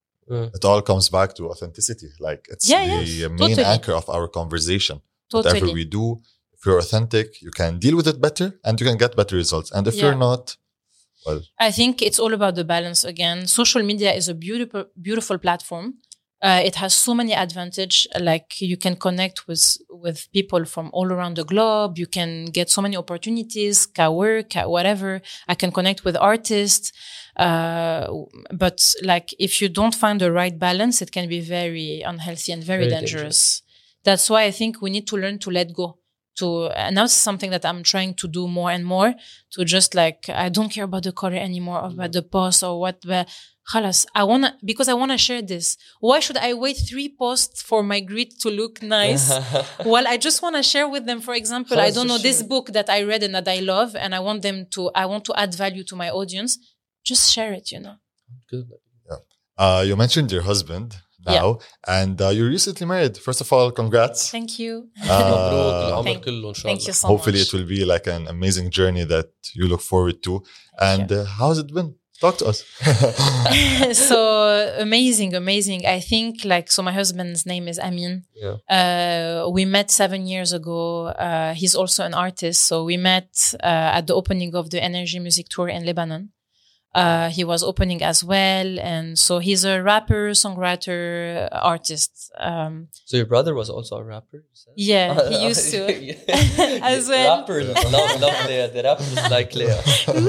it all comes back to authenticity. Like, it's yeah, the yes, main totally. anchor of our conversation. Totally. Whatever we do, if you're authentic, you can deal with it better and you can get better results. And if yeah. you're not, well. I think it's all about the balance again. Social media is a beautiful, beautiful platform. Uh, it has so many advantages. Like, you can connect with, with people from all around the globe. You can get so many opportunities, ka work, ka whatever. I can connect with artists. Uh, but like, if you don't find the right balance, it can be very unhealthy and very, very dangerous. dangerous. That's why I think we need to learn to let go. To, and that's something that I'm trying to do more and more, to just like, I don't care about the color anymore, or about the post or what, but khalas, I wanna, because I wanna share this. Why should I wait three posts for my grid to look nice? Well, I just wanna share with them, for example, I don't know, sure. this book that I read and that I love, and I want them to, I want to add value to my audience. Just share it, you know. Good. Yeah. Uh, you mentioned your husband now, yeah. and uh, you recently married. First of all, congrats. Thank you. Uh, thank, thank you so hopefully much. It will be like an amazing journey that you look forward to. Thank and uh, how's it been? Talk to us. So amazing, amazing. I think like, so my husband's name is Amin. Yeah. Uh, we met seven years ago. Uh, he's also an artist. So we met uh, at the opening of the Energy Music Tour in Lebanon. Uh, he was opening as well. And so he's a rapper, songwriter, artist. Um, so your brother was also a rapper? Yeah, he used to. As well. Rappers love, love Leah. The rappers like Leah.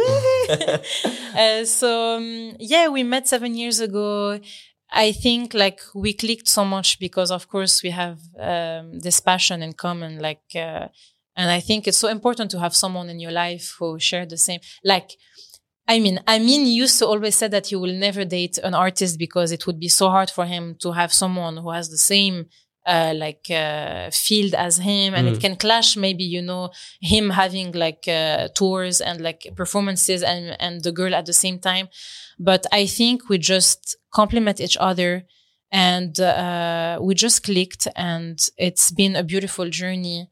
uh, so, um, yeah, we met seven years ago. I think like we clicked so much because, of course, we have um, this passion in common. Like, uh, and I think it's so important to have someone in your life who share the same, like, I mean, Amin used to always say that he will never date an artist because it would be so hard for him to have someone who has the same, uh, like, uh, field as him. And mm. it can clash, maybe, you know, him having like, uh, tours and like performances and, and the girl at the same time. But I think we just complement each other and, uh, we just clicked, and it's been a beautiful journey.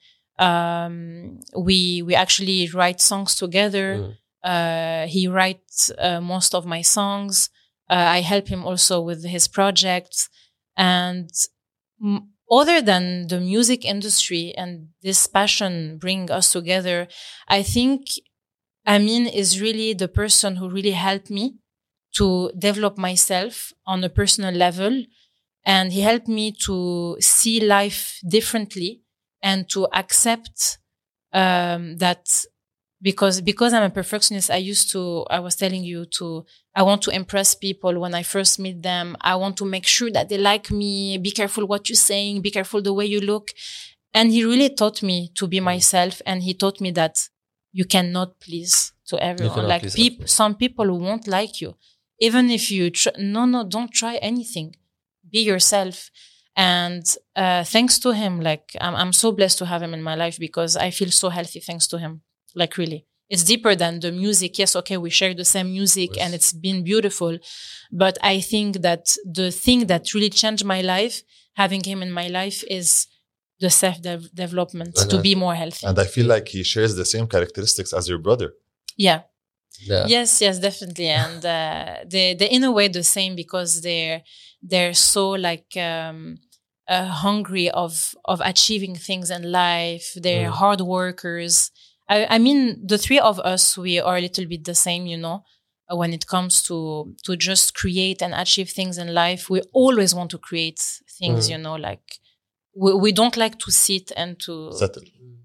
Um, we, we actually write songs together. Mm. Uh, he writes uh, most of my songs. Uh, I help him also with his projects. And m- other than the music industry and this passion bring us together, I think Amin is really the person who really helped me to develop myself on a personal level. And he helped me to see life differently and to accept um, that Because, because I'm a perfectionist, I used to, I was telling you to, I want to impress people when I first meet them. I want to make sure that they like me. Be careful what you're saying. Be careful the way you look. And he really taught me to be myself. And he taught me that you cannot please to everyone. Like people, some people won't like you. Even if you, tr- no, no, don't try anything. Be yourself. And, uh, thanks to him, like, I'm, I'm so blessed to have him in my life because I feel so healthy thanks to him. Like, really, it's deeper than the music. Yes, okay, we share the same music and it's been beautiful. But I think that the thing that really changed my life, having him in my life, is the self-development to I, be more healthy. And I feel like he shares the same characteristics as your brother. Yeah. yeah. Yes, yes, definitely. And uh, they, they're in a way the same because they're, they're so like, um, uh, hungry of, of achieving things in life. They're mm. hard workers. I, I mean, the three of us, we are a little bit the same, you know, when it comes to, to just create and achieve things in life. We always want to create things, mm. you know, like we, we don't like to sit and to settle.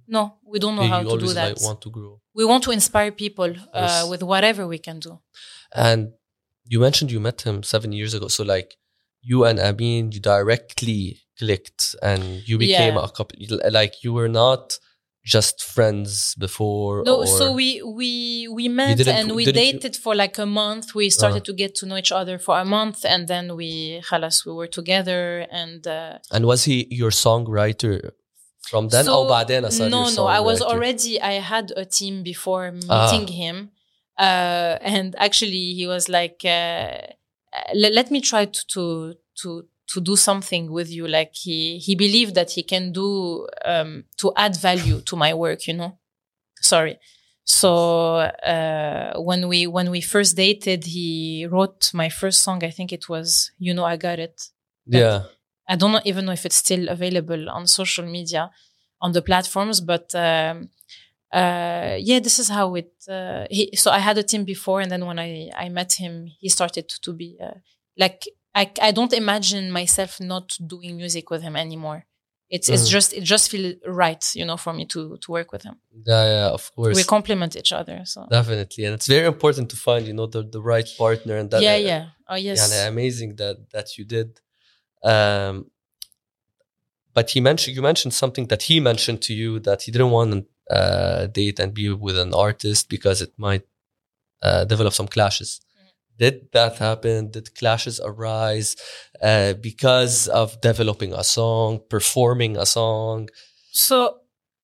No, we don't know you how you to always do that. like want to grow. We want to inspire people uh, Yes. with whatever we can do. And you mentioned you met him seven years ago. So like you and Amin, you directly clicked and you became Yeah. a couple. Like you were not just friends before. No, or so we we we met didn't- and we didn't you- dated for like a month. We started to get to know each other for a month, and then we, خلاص, we were together. And uh, And was he your songwriter from then? so, Oh, بعدين صار no, your no, I was songwriter. already. I had a team before Ah. meeting him, uh, and actually he was like, uh, "Let let me try to to to." to do something with you. Like he, he believed that he can do, um, to add value to my work, you know? Sorry. So, uh, when we, when we first dated, he wrote my first song. I think it was, You Know, I Got It. Yeah. I don't know, even know if it's still available on social media, on the platforms, but, um, uh, yeah, this is how it, uh, he, so I had a team before, and then when I, I met him, he started to be, uh, like, I, I don't imagine myself not doing music with him anymore. It's it's Mm. just it just feels right, you know, for me to to work with him. Yeah, yeah, of course. We complement each other. So Definitely. And it's very important to find, you know, the, the right partner. And that, yeah, uh, yeah. Oh yes. yeah, amazing that, that you did. Um, but he mentioned, you mentioned something that he mentioned to you, that he didn't want to uh, date and be with an artist because it might uh, develop some clashes. Did that happen? Did clashes arise uh, because of developing a song, performing a song? So,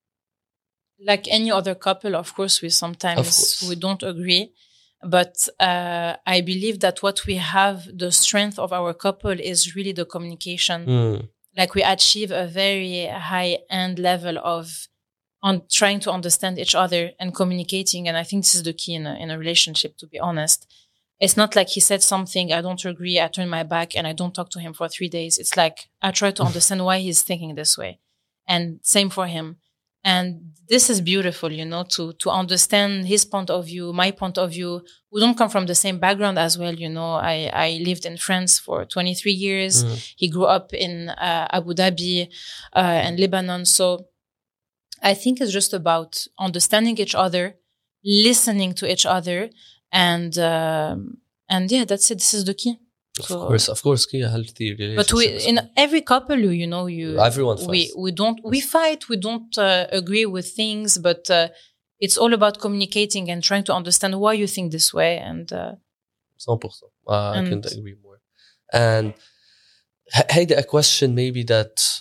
like any other couple, of course, we Of sometimes course. we don't agree. But uh, I believe that what we have, the strength of our couple, is really the communication. Mm. Like we achieve a very high end level of on trying to understand each other and communicating. And I think this is the key in a, in a relationship, to be honest. It's not like he said something, I don't agree, I turn my back and I don't talk to him for three days. It's like, I try to understand why he's thinking this way. And same for him. And this is beautiful, you know, to, to understand his point of view, my point of view. We don't come from the same background as well. You know, I, I lived in France for twenty-three years. Mm. He grew up in uh, Abu Dhabi uh, and Lebanon. So I think it's just about understanding each other, listening to each other. And, um, and yeah, that's it. This is the key. Of So- course, of course, key, a healthy relationship. But we, is in good. every couple, you, you know, you, Everyone we, fights. we don't, we fight, we don't uh, agree with things, but uh, it's all about communicating and trying to understand why you think this way. And uh, one hundred percent. Uh, I And- couldn't agree more. And h- hey, a question maybe that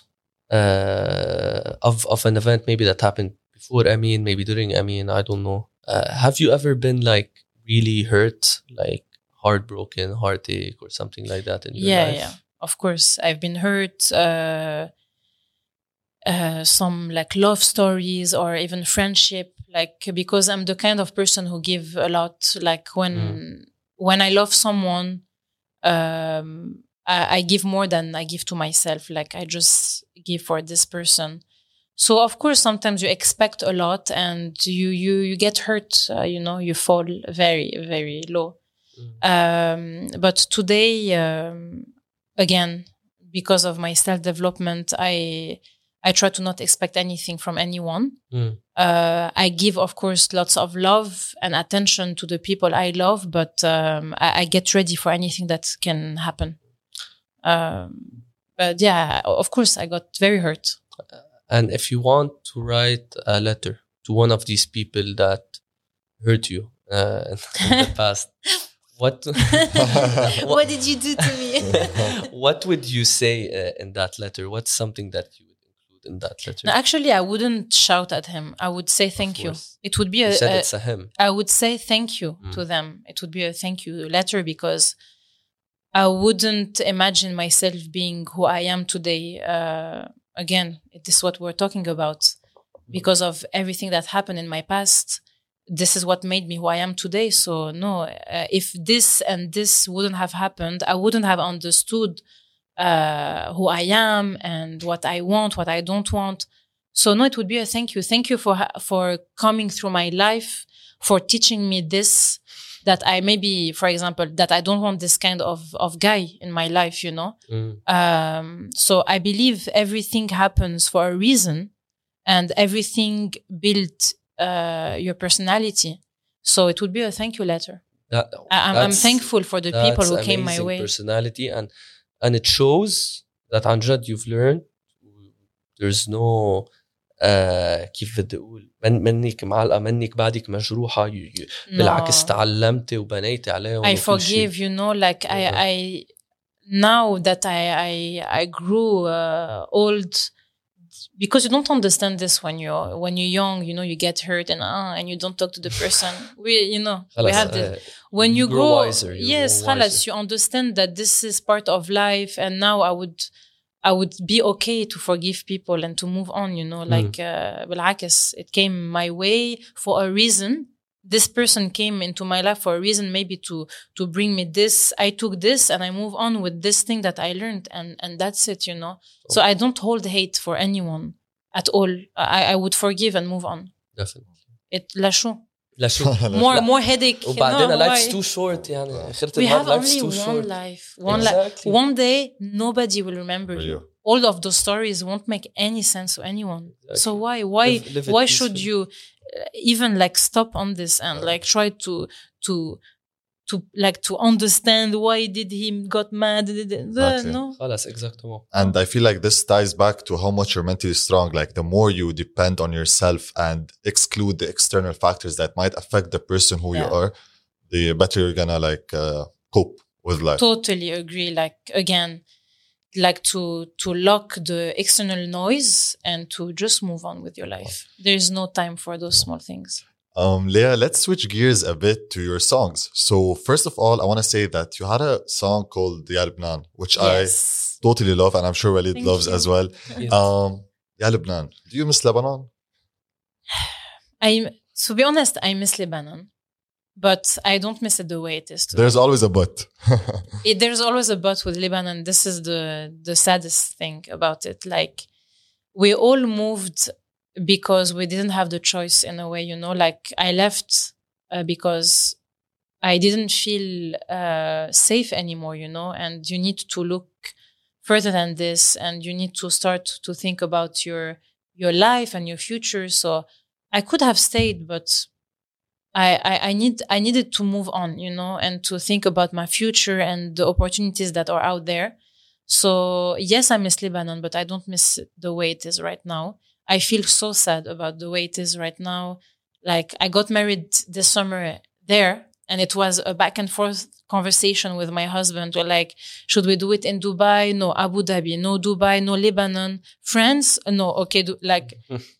uh, of of an event maybe that happened before Amin, maybe during Amin, I don't know. Uh, have you ever been like really hurt, like heartbroken, heartache, or something like that in your yeah, life? yeah, of course, I've been hurt. Uh, uh, some like love stories or even friendship, like because I'm the kind of person who give a lot. Like when when I love someone, um, I, I give more than I give to myself. Like I just give for this person. So of course, sometimes you expect a lot and you you you get hurt. Uh, you know, you fall very very low. Um, but today, um, again, because of my self development, I I try to not expect anything from anyone. Mm. Uh, I give, of course, lots of love and attention to the people I love, but um, I, I get ready for anything that can happen. Um, but yeah, o- of course, I got very hurt. And if you want to write a letter to one of these people that hurt you uh, in the past, what What did you do to me? what would you say uh, in that letter? What's something that you would include in that letter? No, actually, I wouldn't shout at him. I would say thank you. course. It would be You a, said a it's a him. I would say thank you Mm. to them. It would be a thank you letter because I wouldn't imagine myself being who I am today. Uh, again, this is what we're talking about. Because of everything that happened in my past, this is what made me who I am today. So no, uh, if this and this wouldn't have happened, I wouldn't have understood uh, who I am and what I want, what I don't want. So no, it would be a thank you. Thank you for ha- for coming through my life, for teaching me this, that I maybe, for example, that I don't want this kind of, of guy in my life, you know? Mm. Um, so I believe everything happens for a reason. and everything built uh, your personality. So it would be a thank you letter. That, I, I'm, I'm thankful for the people who came my way. Personality, and and it shows that عن جد you've learned. There's no uh, كيف بدي أقول من منك معلقة منك بعدك مجروحة. You, you, no. بالعكس تعلمتي وبنيتي عليهم. I forgive, you know, like yeah. I I now that I I I grew uh, old, because you don't understand this when you're when you're young, you know, you get hurt and uh, and you don't talk to the person. We, you know, we have the, when you, you grow, wiser, yes, halas, you understand that this is part of life. And now I would, I would be okay to forgive people and to move on, you know, like, uh, بالعكس, it came my way for a reason. This person came into my life for a reason, maybe to, to bring me this. I took this and I move on with this thing that I learned, and, and that's it, you know. Okay. So I don't hold hate for anyone at all. I, I would forgive and move on. Definitely. It لا شو. لا شو. More, more headache. وبعدين life's too short يعني. We have only one short. life. One exactly. li- One day, nobody will remember you. you. All of those stories won't make any sense to anyone. Exactly. So why, why, live, live why should you even like stop on this and like try to, to, to like to understand why did he got mad? Exactly. No. exactly. And I feel like this ties back to how much you're mentally strong. Like the more you depend on yourself and exclude the external factors that might affect the person who yeah. you are, the better you're gonna like uh, cope with life. Totally agree. Like again, like to to lock the external noise and to just move on with your life. There is no time for those small things. Um, Leah, let's switch gears a bit to your songs. So first of all, I want to say that you had a song called Ya Lebanon, which yes. I totally love, and I'm sure Walid Thank loves you. as well. Yes. Um, Ya Lebanon, do you miss Lebanon? I, to be honest, I miss Lebanon, but I don't miss it the way it is today. There's always a but. it, there's always a but with Lebanon. This is the the saddest thing about it. Like, we all moved because we didn't have the choice in a way, you know, like I left uh, because I didn't feel uh, safe anymore, you know, and you need to look further than this, and you need to start to think about your, your life and your future. So I could have stayed, but I, I, I need, I needed to move on, you know, and to think about my future and the opportunities that are out there. So yes, I miss Lebanon, but I don't miss the way it is right now. I feel so sad about the way it is right now. Like, I got married this summer there, and it was a back and forth conversation with my husband. We're like, should we do it in Dubai? No, Abu Dhabi. No, Dubai. No, Lebanon. France? No, okay. Do, like,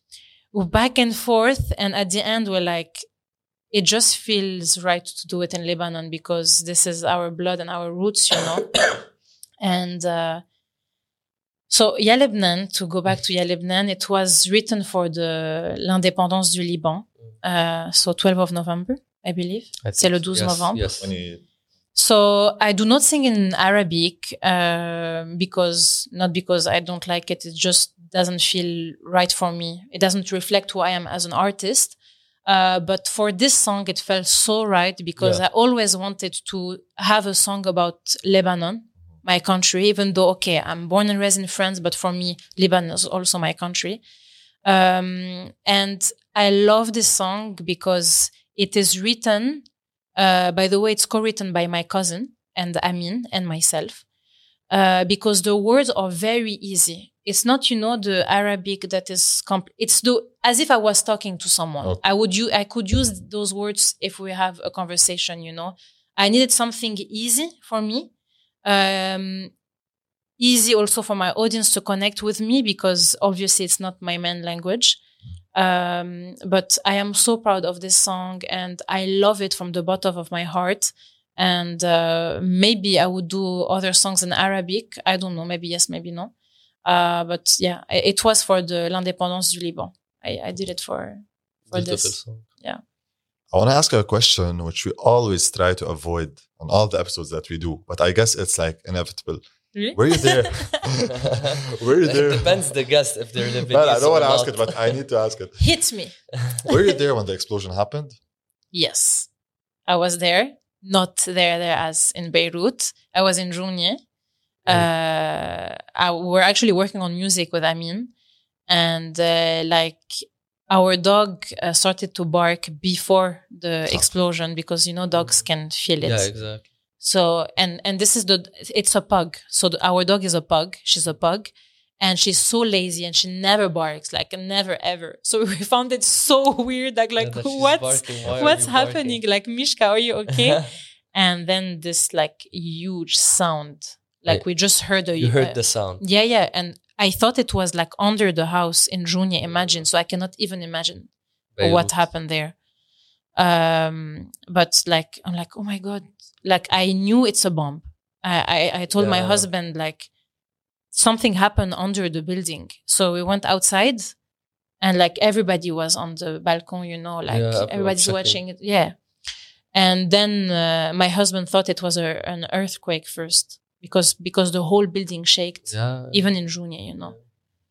back and forth. And at the end, we're like, it just feels right to do it in Lebanon because this is our blood and our roots, you know? and, uh, So, Ya Lebanon, to go back to Ya Lebanon, it was written for the l'indépendance du Liban. Uh, so, twelfth of November, I believe. I C'est le douze yes, novembre. Yes. So, I do not sing in Arabic, uh, because, not because I don't like it, it just doesn't feel right for me. It doesn't reflect who I am as an artist. Uh, but for this song, it felt so right because yeah. I always wanted to have a song about Lebanon. My country, even though, okay, I'm born and raised in France, but for me, Lebanon is also my country. Um, and I love this song because it is written, uh, by the way, it's co-written by my cousin and Amin and myself, uh, because the words are very easy. It's not, you know, the Arabic that is, comp- it's the, as if I was talking to someone. Okay. I would use, I could use those words if we have a conversation, you know. I needed something easy for me. Um, easy also for my audience to connect with me because obviously it's not my main language. Um, but I am so proud of this song and I love it from the bottom of my heart. And, uh, maybe I would do other songs in Arabic. I don't know. Maybe yes, maybe no. Uh, but yeah, it was for the l'indépendance du Liban. I, I did it for, for this. Song. Yeah. I want to ask you a question which we always try to avoid on all the episodes that we do, but I guess it's like inevitable. Really? Were you there? Were you there? It depends the guest if they're living. Well, I don't want to ask it, but I need to ask it. Hit me. Were you there when the explosion happened? Yes, I was there. Not there, there as in Beirut. I was in Jounieh. Uh, I, we're actually working on music with Amin. and uh, like our dog uh, started to bark before the explosion because you know dogs can feel it. Yeah, exactly. So and and this is the it's a pug. So the, our dog is a pug. She's a pug. And she's so lazy and she never barks, like never ever. So we found it so weird, like like Yeah, that she's what's barking. Why are what's you happening? barking? Like Mishka, are you okay? And then this like huge sound, like Right. we just heard a You heard uh, the sound. yeah yeah, and I thought it was like under the house in Junia. Imagine, so I cannot even imagine Beirut. what happened there. Um, but like I'm like oh my god, like I knew it's a bomb. I I, I told my Yeah. husband like. Something happened under the building. So we went outside and like everybody was on the balcony, you know, like Yeah, everybody's checking. watching it. Yeah. And then uh, my husband thought it was a, an earthquake first because, because the whole building shaked, Yeah. even in Junia, you know.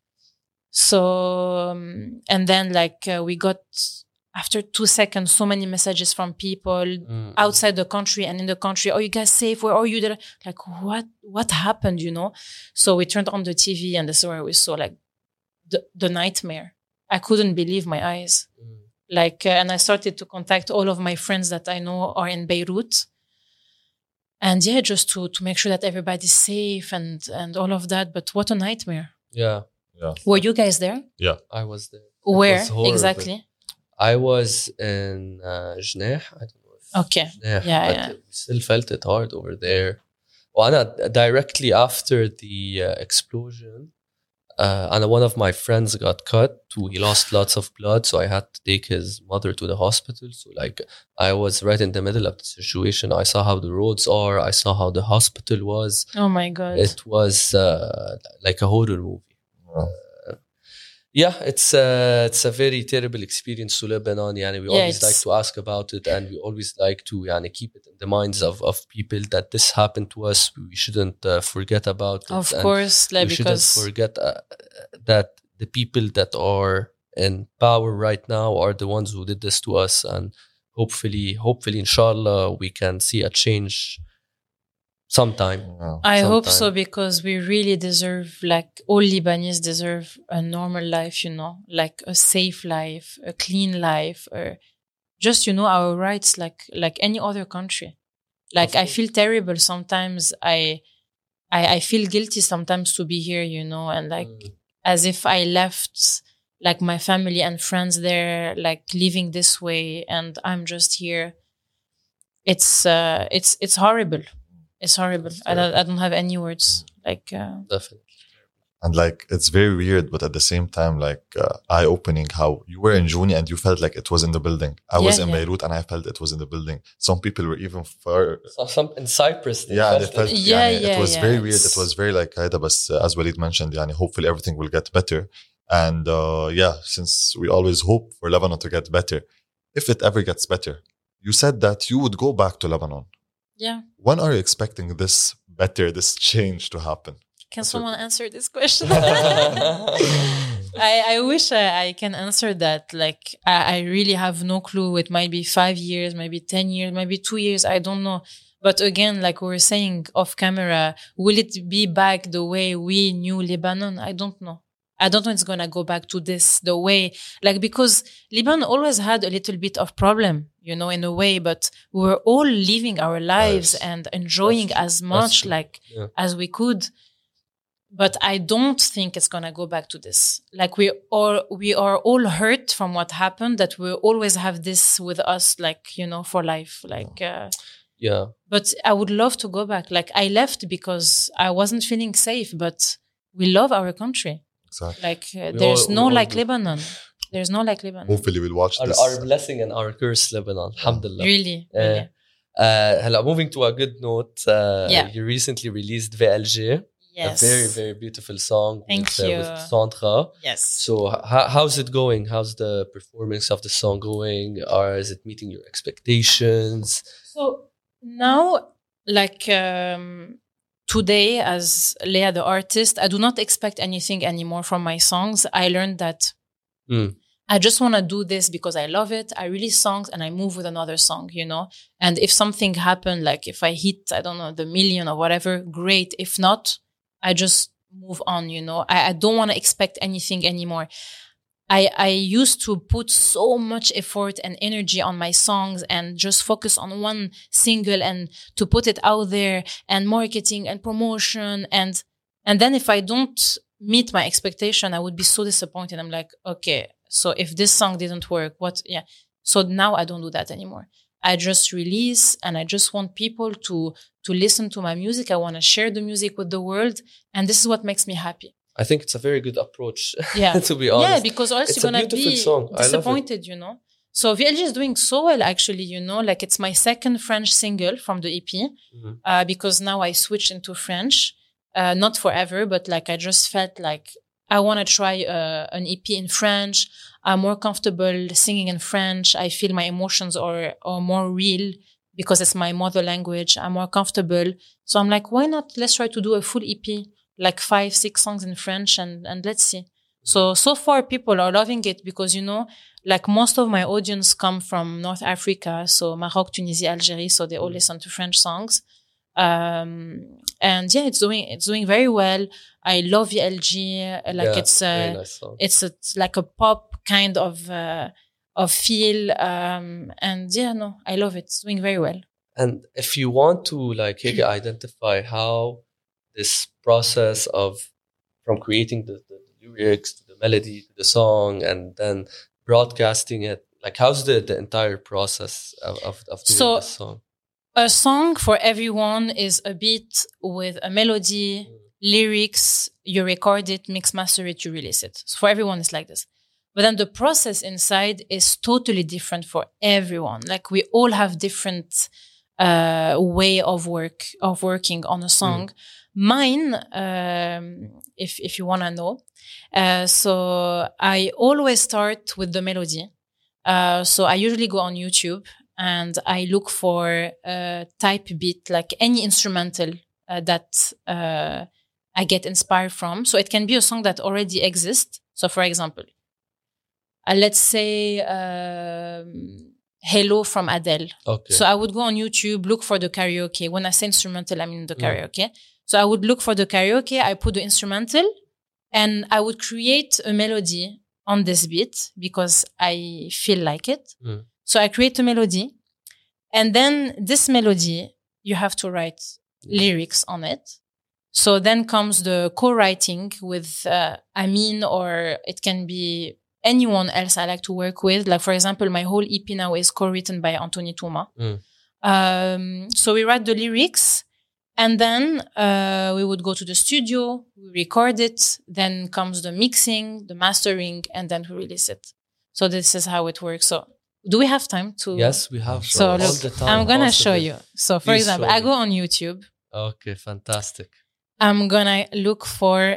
So, um, and then like uh, we got, after two seconds, so many messages from people Mm. outside the country and in the country. Are you guys safe? Where are you? There? Like, what, what happened, you know? So we turned on the T V and this is where we saw like the, the nightmare. I couldn't believe my eyes. Mm. Like, uh, and I started to contact all of my friends that I know are in Beirut. And yeah, just to, to make sure that everybody's safe and, and all of that. But what a nightmare. Yeah. Yeah. Were you guys there? I was there. Where was horrible. exactly? I was in uh, Jneh. I don't know. If Okay. Jneh, Yeah, but yeah. we still felt it hard over there. Well, Anna, directly after the uh, explosion, uh, and one of my friends got cut. Too. He lost lots of blood, so I had to take his mother to the hospital. So, like, I was right in the middle of the situation. I saw how the roads are. I saw how the hospital was. Oh my God. It was uh, like a horror movie. Yeah. Yeah, it's uh, it's a very terrible experience to Lebanon. Yani we Yeah, always like it's- to ask about it, and we always like to yani, keep it in the minds of, of people that this happened to us. We shouldn't uh, forget about it. Of and course, like we shouldn't because forget uh, that the people that are in power right now are the ones who did this to us, and hopefully, hopefully, inshallah, we can see a change sometime. Yeah. I hope so sometime. because we really deserve, like all Lebanese deserve a normal life, you know, like a safe life, a clean life, or just, you know, our rights like like any other country. Like Of I course. feel terrible sometimes. I, I I feel guilty sometimes to be here, you know, and like Mm. as if I left like my family and friends there, like living this way, and I'm just here. It's uh, it's it's horrible. It's horrible. It's I don't I don't have any words. Like uh, Definitely. And like, it's very weird, but at the same time, like uh, eye opening how you were in Juni and you felt like it was in the building. I was Yeah, in yeah. Beirut and I felt it was in the building. Some people were even far. So, some in Cyprus. They Yeah, they felt felt, it. Yeah, يعني, yeah, it was yeah, very weird. it's- It was very like, هيدا بس, uh, as Walid mentioned, يعني, hopefully everything will get better. And uh, yeah, since we always hope for Lebanon to get better, if it ever gets better, you said that you would go back to Lebanon. yeah. When are you expecting this better, this change to happen? Can That's someone answer this question? I, I wish I, I can answer that. Like, I, I really have no clue. It might be five years, maybe ten years, maybe two years. I don't know. But again, like we were saying off camera, will it be back the way we knew Lebanon? I don't know. I don't know it's going to go back to this, the way, like, because Lebanon always had a little bit of problem, you know, in a way, but we were all living our lives Yes. and enjoying That's true. as That's much, true. like, Yeah. as we could. But I don't think it's gonna go back to this. Like we are, we are all hurt from what happened. That we always have this with us, like you know, for life. Like, uh, Yeah. but I would love to go back. Like I left because I wasn't feeling safe. But we love our country. Exactly. Like uh, We there's all- we no all like do. Lebanon. There's no like Lebanon. Hopefully we'll watch Our, this. our blessing and our curse, Lebanon. Alhamdulillah. Really, Uh, really. Uh, هلا, moving to a good note. Uh, Yeah. You recently released V L G. Yes. A very, very beautiful song. Thank with, uh, you. with Sandra. Yes. So, h- how's it going? How's the performance of the song going? Or is it meeting your expectations? So now, like um, today, as Leah the artist, I do not expect anything anymore from my songs. I learned that Mm. I just want to do this because I love it. I release songs and I move with another song, you know? And if something happened, like if I hit, I don't know, the million or whatever, great. If not, I just move on, you know. I, I don't want to expect anything anymore. I, I used to put so much effort and energy on my songs and just focus on one single and to put it out there and marketing and promotion. And, and then if I don't meet my expectation, I would be so disappointed. I'm like, okay, so if this song didn't work, what? Yeah. So now I don't do that anymore. I just release and I just want people to, to listen to my music. I want to share the music with the world. And this is what makes me happy. I think it's a very good approach. Yeah. To be honest. Yeah, because else it's you're going to be song. disappointed, you know. So V L G is doing so well, actually, you know, like it's my second French single from the E P, mm-hmm. uh, because now I switched into French, uh, not forever, but like I just felt like I want to try uh, an E P in French. I'm more comfortable singing in French. I feel my emotions are, are more real because it's my mother language. I'm more comfortable. So I'm like, why not? Let's try to do a full E P, like five, six songs in French and, and let's see. So, so far people are loving it because, you know, like most of my audience come from North Africa. So Maroc, Tunisia, Algeria. So they all listen to French songs. Um, and yeah, it's doing, it's doing very well. I love V L G. Like yeah, it's a, nice it's a, it's like a pop kind of, uh, of feel. Um, and yeah, no, I love it. It's doing very well. And if you want to like identify how this process of from creating the, the, the lyrics to the melody to the song and then broadcasting it, like how's the, the entire process of, of, of doing so, this song? A song for everyone is a beat with a melody, mm. lyrics, you record it, mix, master it, you release it. So for everyone, it's like this. But then the process inside is totally different for everyone. Like we all have different uh, way of work, of working on a song. Mm. Mine, um, if, if you want to know. Uh, so I always start with the melody. Uh, so I usually go on YouTube and I look for a type beat, like any instrumental uh, that uh, I get inspired from. So it can be a song that already exists. So for example, uh, let's say um, Hello from Adele. Okay. So I would go on YouTube, look for the karaoke. When I say instrumental, I mean the karaoke. Mm. So I would look for the karaoke, I put the instrumental, and I would create a melody on this beat because I feel like it. Mm. So I create a melody, and then this melody, you have to write mm. lyrics on it. So then comes the co-writing with uh, Amin, or it can be anyone else I like to work with. Like, for example, my whole E P now is co-written by Anthony Touma. Mm. Um, so we write the lyrics. And then uh, we would go to the studio, we record it, then comes the mixing, the mastering, and then we release it. So this is how it works. So do we have time to? Yes, we have. So all look, the time I'm going to show possible. you. So for Please example, I go on YouTube. Okay, fantastic. I'm going to look for,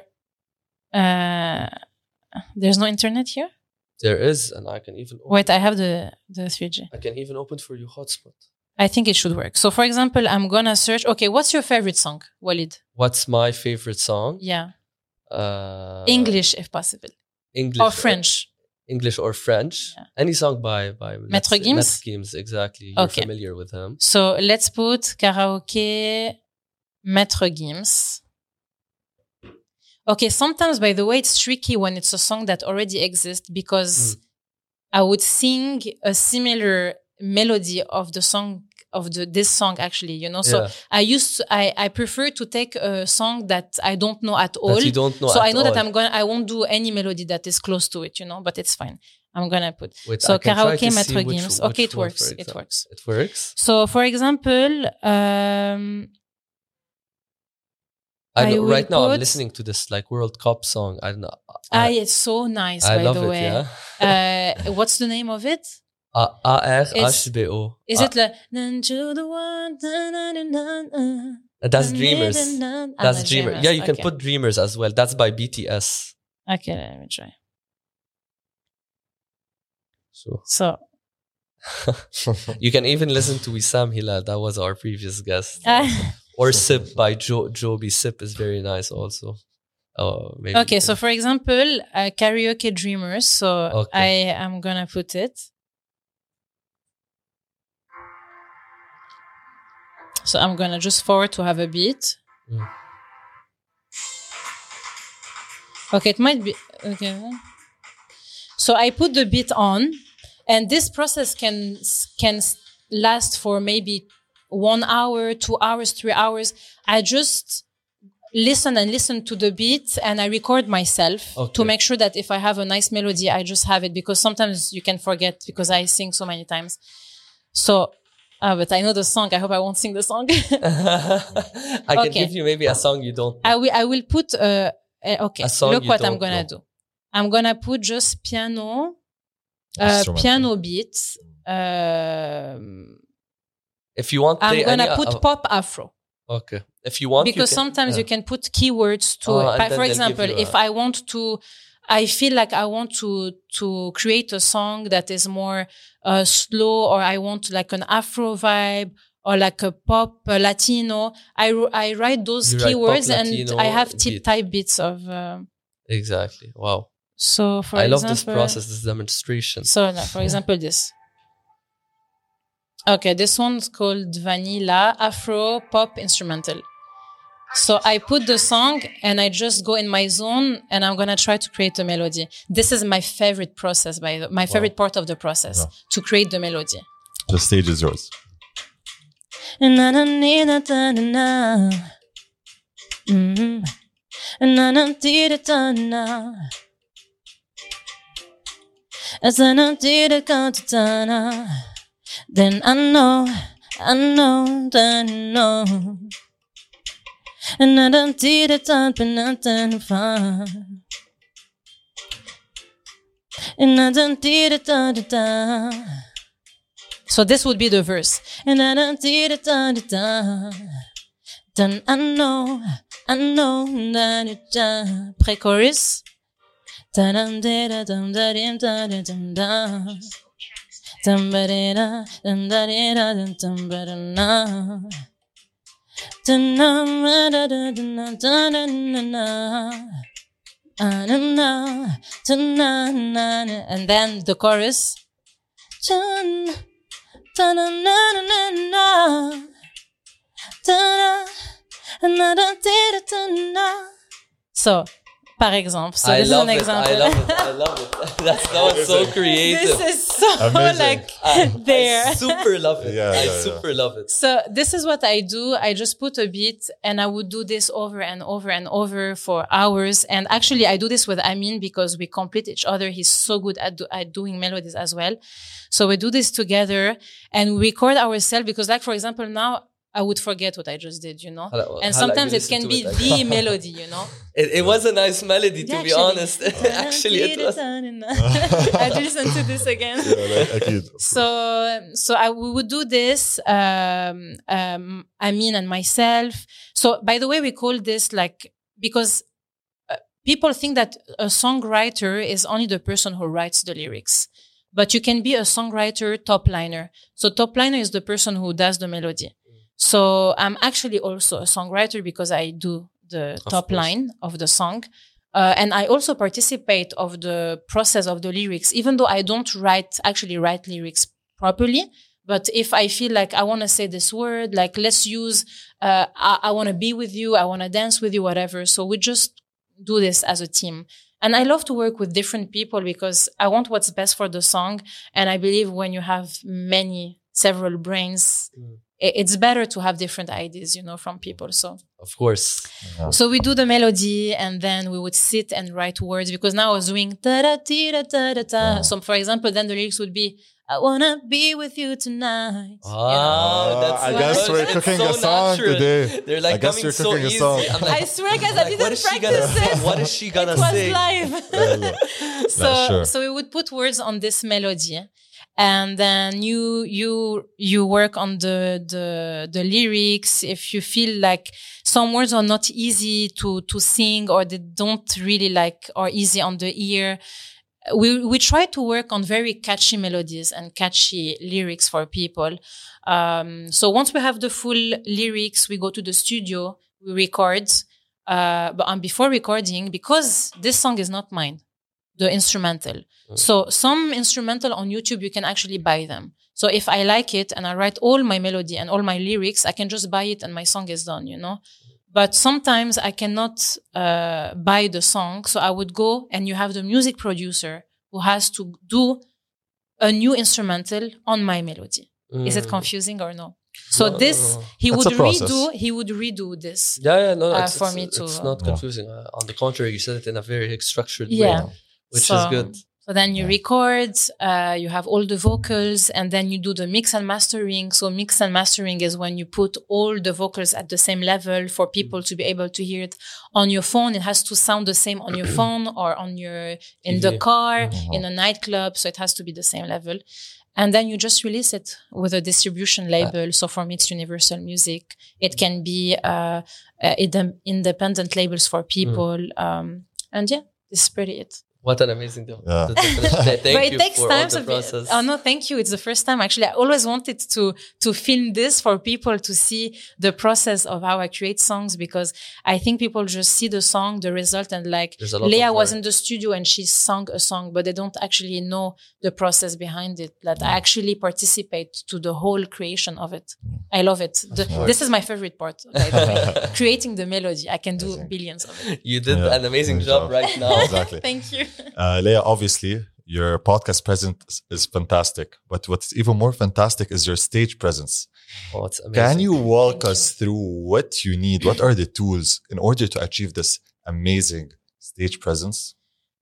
uh, there's no internet here? There is, and I can even... Wait, I have the, the three G. I can even open for you hotspot. I think it should work. So, for example, I'm going to search... Okay, what's your favorite song, Walid? What's my favorite song? Yeah. Uh, English, if possible. English. Or French. English or French. Yeah. Any song by... by Maître Gims? Maître Gims, exactly. You're okay. familiar with him. So, let's put karaoke Maître Gims. Okay, sometimes, by the way, it's tricky when it's a song that already exists because mm. I would sing a similar... melody of the song of the this song actually, you know. So yeah. I used to, I I prefer to take a song that I don't know at all. That you don't know so at I know all. that I'm going I won't do any melody that is close to it, you know, but it's fine. I'm gonna put Wait, so karaoke Maître which, Gims. which okay, it one, works. It works. It works. So for example, um I know, I right now put, I'm listening to this like World Cup song. I don't know. I, ah, it's so nice I by love the it, way. Yeah. uh what's the name of it? A R H B O. Is it like the one? That's Dreamers. That's Dreamers. Dreamers. Yeah, you okay. can put Dreamers as well. That's by B T S. Okay, let me try. So, so. you can even listen to Wissam Hilal. That was our previous guest. Or Sip by jo- Joby. Sip is very nice also. Oh, maybe okay, so for example, uh, karaoke Dreamers. So okay. I am gonna put it. So I'm gonna just forward to have a beat. Mm. Okay, it might be okay. So I put the beat on, and this process can can last for maybe one hour, two hours, three hours. I just listen and listen to the beat, and I record myself okay. to make sure that if I have a nice melody, I just have it, because sometimes you can forget because I sing so many times. So, uh, but I know the song. I hope I won't sing the song. I can okay. give you maybe a song you don't know. I will. I will put. Uh, uh, okay. A song Look you what don't I'm gonna know. do. I'm gonna put just piano, uh, piano beats. Um, if you want, I'm gonna any, put uh, pop afro. Okay. If you want, because you can, sometimes yeah. you can put keywords to oh, it. But for give example, you if a- I want to, I feel like I want to to create a song that is more uh, slow, or I want like an Afro vibe, or like a pop uh, Latino. I I write those You write keywords, pop, and Latino I have beat. tip type bits of. Uh, Exactly. Wow. so for I example, love this process, this demonstration. So like, for example, this. Okay, this one's called Vanilla Afro Pop Instrumental. So I put the song and I just go in my zone, and I'm gonna try to create a melody. This is my favorite process, by the, my favorite wow. part of the process, yeah. to create the melody. The stage is yours. Then I know, I know, that I know. And I don't did it up and nothing fun. And I don't did it da da da. So this would be the verse. And I don't did it da da da. Then I know, I know that it da. Pre-chorus. Da dum da da dum da dim da da dum da. Dum ba da da dum da da dum dum ba da na. And then the chorus. So, par exemple, so I this is love an it, example. I love it. I love it. That's that was so creative. This is so Amazing. like I, there. I super love it. Yeah, I yeah, super yeah. love it. So this is what I do. I just put a beat, and I would do this over and over and over for hours. And actually, I do this with Amin because we complete each other. He's so good at, do, at doing melodies as well. So we do this together and we record ourselves, because, like, for example, now I would forget what I just did, you know? Hello, and hello, sometimes it can be it. the melody, you know? It, it was a nice melody, to Yeah, be actually. honest. Actually, it was. I listen to this again. Yeah, like, أكيد. So, so I we would do this, um, um, Amin and myself. So, by the way, we call this like, because uh, people think that a songwriter is only the person who writes the lyrics. But you can be a songwriter top liner. So top liner is the person who does the melody. So I'm actually also a songwriter because I do the Of top course. line of the song. Uh, and I also participate of the process of the lyrics, even though I don't write, actually write lyrics properly. But if I feel like I want to say this word, like let's use, uh, I, I want to be with you, I want to dance with you, whatever. So we just do this as a team. And I love to work with different people because I want what's best for the song. And I believe when you have many, several brains, Mm. it's better to have different ideas, you know, from people. So, Of course. Yeah. so we do the melody and then we would sit and write words, because now I was doing da da da da da da. So, for example, then the lyrics would be, I wanna be with you tonight. Wow, Ah, Oh, that's I so guess good. we're It's cooking so a song natural. today. They're like I guess coming you're so cooking a easy. song. I'm like, I swear, guys, I like, didn't what is she gonna practice it. What is she gonna It was say? live. so, Nah, sure. so we would put words on this melody, and then you you you work on the the the lyrics. If you feel like some words are not easy to to sing, or they don't really like are easy on the ear, we we try to work on very catchy melodies and catchy lyrics for people. Um, so once we have the full lyrics, we go to the studio, we record. Uh, but um, before recording, because this song is not mine, the instrumental. Mm. So some instrumental on YouTube, you can actually buy them. So if I like it and I write all my melody and all my lyrics, I can just buy it and my song is done, you know? But sometimes I cannot uh, buy the song. So I would go and you have the music producer who has to do a new instrumental on my melody. Mm. Is it confusing or no? So no, this, no, no. he That's would redo, he would redo this. Yeah, yeah, no, no uh, it's, for it's, me to. It's not confusing. Uh, on the contrary, you said it in a very structured yeah. way, which so, is good. So then you yeah. record, uh, you have all the vocals, and then you do the mix and mastering. So mix and mastering is when you put all the vocals at the same level for people to be able to hear it on your phone. It has to sound the same on your phone or on your, in the car, mm-hmm. in a nightclub. So it has to be the same level. And then you just release it with a distribution label. So for me, it's Universal Music. It can be, uh, uh independent labels for people. Mm. Um, and yeah, this is pretty it. What an amazing deal. Yeah. Thank but it you takes for time all the to process. Be, oh no, thank you. It's the first time. Actually, I always wanted to, to film this for people to see the process of how I create songs, because I think people just see the song, the result, and like Leah was in the studio and she sang a song, but they don't actually know the process behind it. That I actually participate to the whole creation of it. I love it. The, this is my favorite part, by the way. Creating the melody. I can do billions of it. You did yeah, an amazing job, job right now. Exactly. Thank you. Uh, Leah, obviously, your podcast presence is fantastic, but what's even more fantastic is your stage presence. Oh, it's amazing. Can you walk Thank us you. through what you need? What are the tools in order to achieve this amazing stage presence?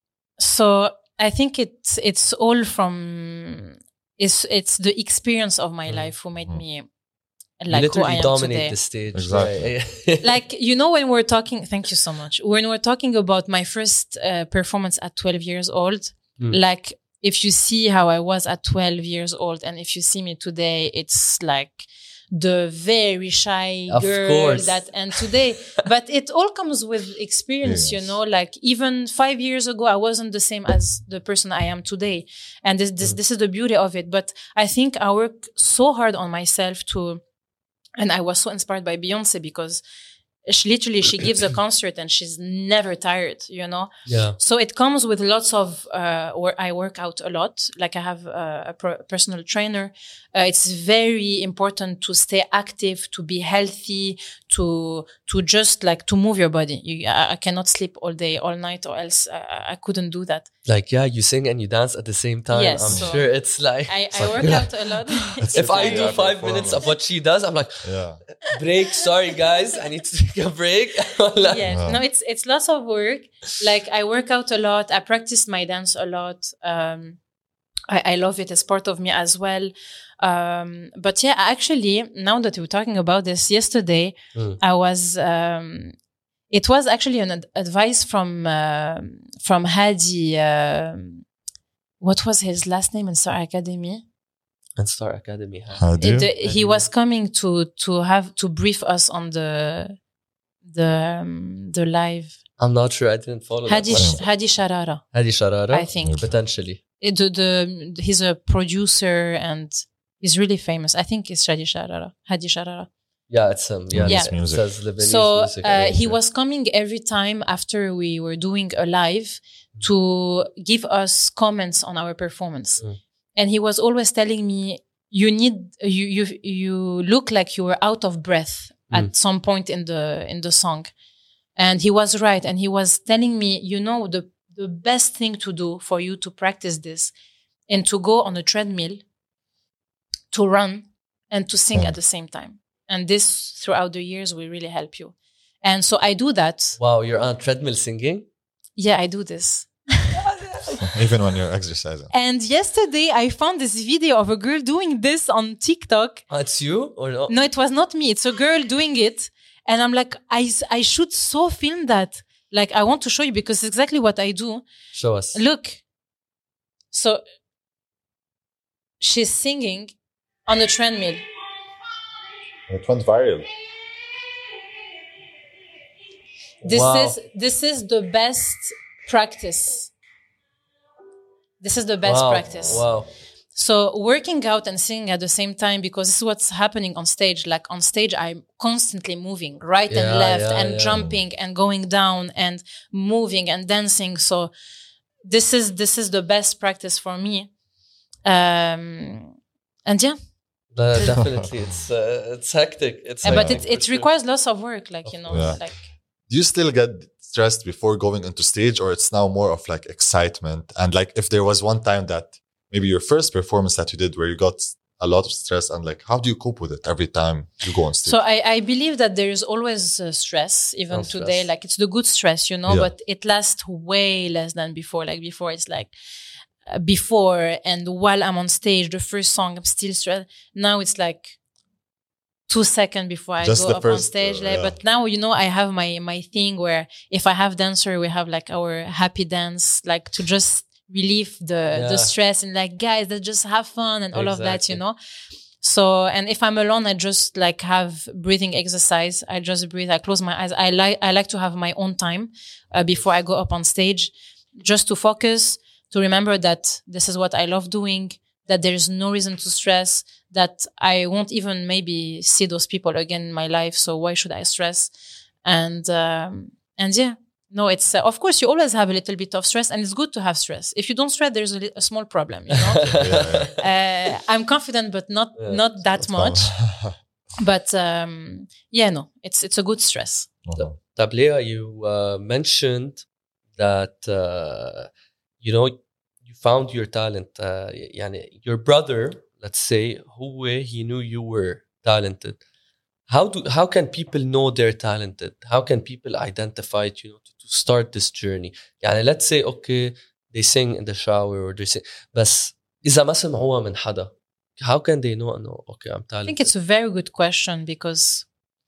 So I think it's it's all from it's it's the experience of my mm. life who made mm. me like you who I am dominate today. The stage. Exactly. Like, you know, when we're talking, thank you so much. When we're talking about my first uh, performance at twelve years old, mm. like if you see how I was at twelve years old and if you see me today, it's like the very shy of girl course. that, and today, but it all comes with experience, yes. you know, like even five years ago, I wasn't the same as the person I am today. And this, this, mm. this is the beauty of it. But I think I work so hard on myself to, and I was so inspired by Beyonce because she literally, she gives a concert and she's never tired, you know? Yeah. So it comes with lots of, uh, where I work out a lot. Like I have a, a pro- personal trainer. Uh, it's very important to stay active, to be healthy, to, to just like, to move your body. You, I, I cannot sleep all day, all night, or else I, I couldn't do that. Like, yeah, you sing and you dance at the same time. Yes, I'm so sure it's like... I, I work out a lot. If I do five minutes of what she does, I'm like, yeah. break, sorry guys, I need to take a break. Like, yes, wow. no, it's it's lots of work. Like I work out a lot. I practice my dance a lot. Um, I, I love it. It's part of me as well. Um, but yeah, actually, now that we're talking about this, yesterday mm. I was... Um, It was actually an ad- advice from uh, from Hadi. Uh, what was his last name in Star Academy? And Star Academy. Hadi. It, uh, he was coming to to have to brief us on the the um, the live. I'm not sure. I didn't follow. Hadi that Hadi Sharara. Hadi Sharara. I think potentially. It, the, the he's a producer and he's really famous. I think it's Hadi Sharara. Hadi Sharara. Yeah, it's him. Um, yeah, yeah. Music. It says Lebanese so music, uh, he was coming every time after we were doing a live mm. to give us comments on our performance, mm. and he was always telling me, "You need you you you look like you were out of breath mm. at some point in the in the song," and he was right. And he was telling me, "You know, the the best thing to do for you to practice this, and to go on a treadmill, to run, and to sing mm. at the same time." And this, throughout the years, will really help you. And so I do that. Wow, you're on a treadmill singing? Yeah, I do this. Even when you're exercising. And yesterday, I found this video of a girl doing this on TikTok. Oh, it's you or no? No, it was not me. It's a girl doing it. And I'm like, I, I should so film that. Like, I want to show you because it's exactly what I do. Show us. Look. So, she's singing on a treadmill. It went viral. This wow. is this is the best practice. This is the best wow. practice. Wow. So working out and singing at the same time, because this is what's happening on stage. Like on stage, I'm constantly moving right yeah, and left yeah, and yeah. jumping and going down and moving and dancing. So this is this is the best practice for me. Um, and yeah. Uh, definitely, it's uh, it's hectic. It's Uh, but hectic it it for sure. requires lots of work, like you know, Yeah. like Do you still get stressed before going into stage, or it's now more of like excitement? And like, if there was one time that maybe your first performance that you did where you got a lot of stress, and like, how do you cope with it every time you go on stage? so I I believe that there is always uh, stress, even Oh, today. stress. Like it's the good stress, you know, Yeah. but it lasts way less than before. Like before, it's like uh, before and while I'm on stage, the first song I'm still stressed. Now it's like two seconds before I Just go the up on first, stage. uh, like, yeah. But now, you know, I have my my thing where if I have dancer, we have like our happy dance, like to just relieve the the Yeah. stress and like guys that just have fun and all of that, you Exactly. know. So, and if I'm alone, I just like have breathing exercise. I just breathe. I close my eyes. I like I like to have my own time uh, before I go up on stage, just to focus, to remember that this is what I love doing, that there is no reason to stress, that I won't even maybe see those people again in my life. So why should I stress? And, um, and yeah, no, it's, uh, of course you always have a little bit of stress, and it's good to have stress. If you don't stress, there's a, li- a small problem, you know? Yeah, uh, I'm confident, but not, Yeah. not that That's much. fun. But, um, yeah, no, it's, it's a good stress. Mhm. Tablea, you uh, mentioned that uh, you know you found your talent. Uh, يعني your brother, let's say, هو he knew you were talented. How do how can people know they're talented? How can people identify it, you know, to, to start this journey? يعني let's say okay, they sing in the shower or they sing, بس إذا ما سمعوها من حدا, how can they know? No, okay, I'm talented. I think it's a very good question, because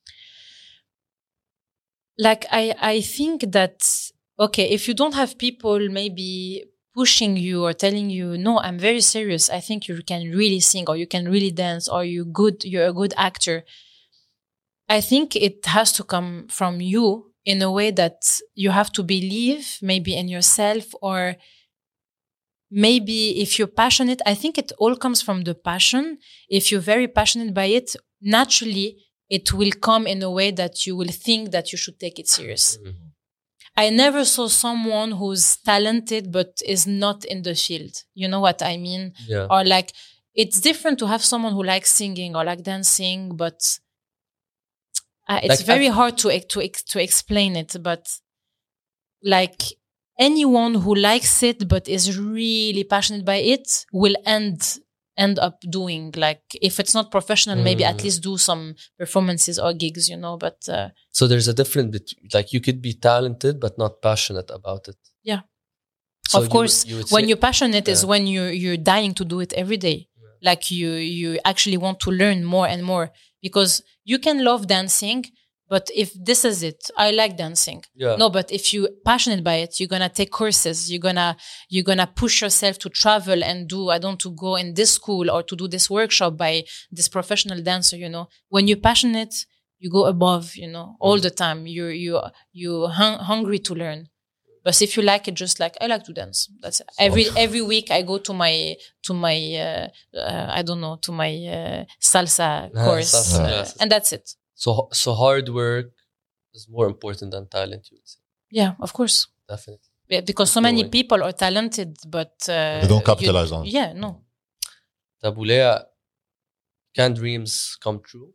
like I, I think that, okay, if you don't have people maybe pushing you or telling you, no, I'm very serious, I think you can really sing, or you can really dance, or you good, you're a good actor. I think it has to come from you in a way that you have to believe maybe in yourself, or maybe if you're passionate. I think it all comes from the passion. If you're very passionate by it, naturally it will come in a way that you will think that you should take it serious. Mhm. I never saw someone who's talented but is not in the field. You know what I mean? Yeah. Or like, it's different to have someone who likes singing or like dancing, but uh, it's Like, very I've- hard to to to explain it. But like, anyone who likes it but is really passionate by it will end end up doing, like, if it's not professional, maybe at Mm. least do some performances or gigs, you know. But uh, So there's a difference between, like, you could be talented but not passionate about it. Yeah. So of you course, would- you would when say- you're passionate is Yeah. when you you're dying to do it every day. Like you you actually want to learn more and more, because you can love dancing, but if this is it, I like dancing. Yeah. No, but if you're passionate by it, you're gonna take courses. You're gonna you're gonna push yourself to travel and do. I don't to go in this school or to do this workshop by this professional dancer. You know, when you're passionate, you go above. You know, all the time. You you you hung, hungry to learn. But if you like it, just like I like to dance. That's it. every every week I go to my to my uh, uh, I don't know to my uh, salsa course, salsa uh, classes. and that's it. So so hard work is more important than talent, you would say. Yeah, of course. Definitely. Yeah, because so Keep many going. people are talented, but uh, They don't you- capitalize on it. Yeah, no. Tabulea, can dreams come true?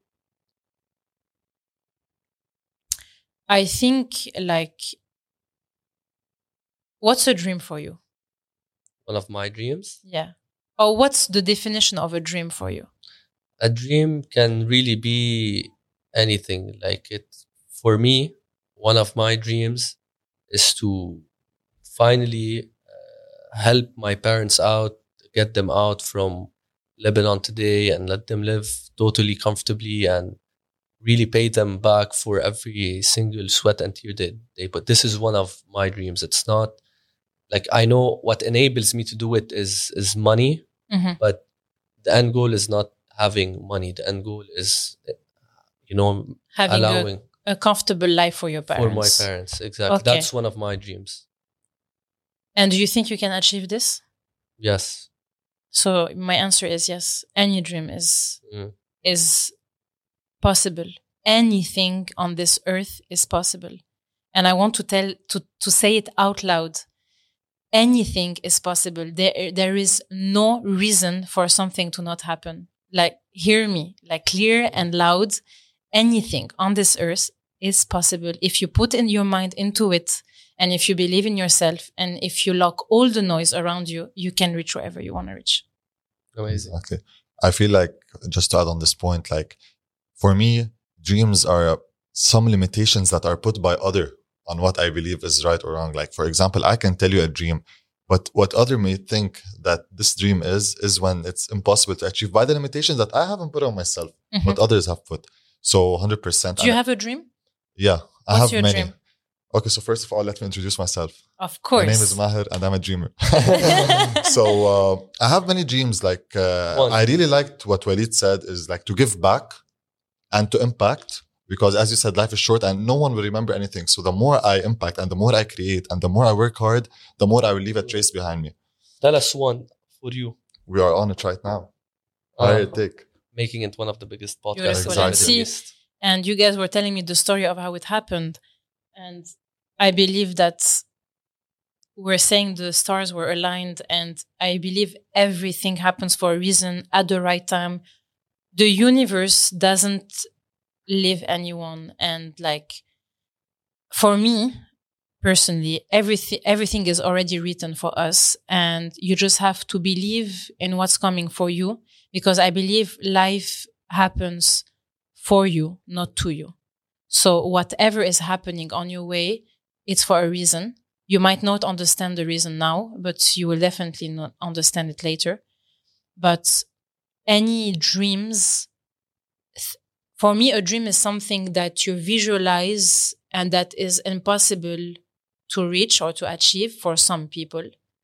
I think like, what's a dream for you? One of my dreams. Yeah. Or what's the definition of a dream for you? A dream can really be anything. Like it, for me, one of my dreams is to finally uh, help my parents out, get them out from Lebanon today and let them live totally comfortably and really pay them back for every single sweat and tear they, they put. This is one of my dreams. It's not like, I know what enables me to do it is is money, Mhm. but the end goal is not having money. The end goal is, you know, Having a, allowing a comfortable life for your for parents. my parents. Exactly. Okay. That's one of my dreams. And do you think you can achieve this? Yes. So my answer is yes. Any dream is Mm. is possible. Anything on this earth is possible. And I want to tell to to say it out loud. Anything is possible. There there is no reason for something to not happen. like hear me, like clear and loud. Anything on this earth is possible if you put in your mind into it, and if you believe in yourself, and if you lock all the noise around you, you can reach wherever you want to reach. Amazing. Exactly. I feel like, just to add on this point, like for me, dreams are some limitations that are put by other on what I believe is right or wrong. Like, for example, I can tell you a dream, but what other may think that this dream is, is when it's impossible to achieve by the limitations that I haven't put on myself, Mm-hmm. but others have put. So one hundred percent. Do you have a dream? Yeah, I What's have your many. dream? Okay, so first of all, let me introduce myself. Of course. My name is Maher and I'm a dreamer. So uh, I have many dreams. Like uh, One. I really liked what Walid said, is like to give back and to impact, because as you said, life is short and no one will remember anything. So the more I impact and the more I create and the more I work hard, the more I will leave a trace behind me. Tell us one for you. We are on it right now. Uh, Higher take. Making it one of the biggest podcasts. Beautiful. in the Exactly. Middle See, East. And you guys were telling me the story of how it happened. And I believe that we're saying the stars were aligned, and I believe everything happens for a reason at the right time. The universe doesn't leave anyone. And like, for me personally, everything, everything is already written for us, and you just have to believe in what's coming for you, because I believe life happens for you, not to you. So whatever is happening on your way, it's for a reason. You might not understand the reason now, but you will definitely not understand it later. But any dreams, th- for me, a dream is something that you visualize and that is impossible to reach or to achieve for some people,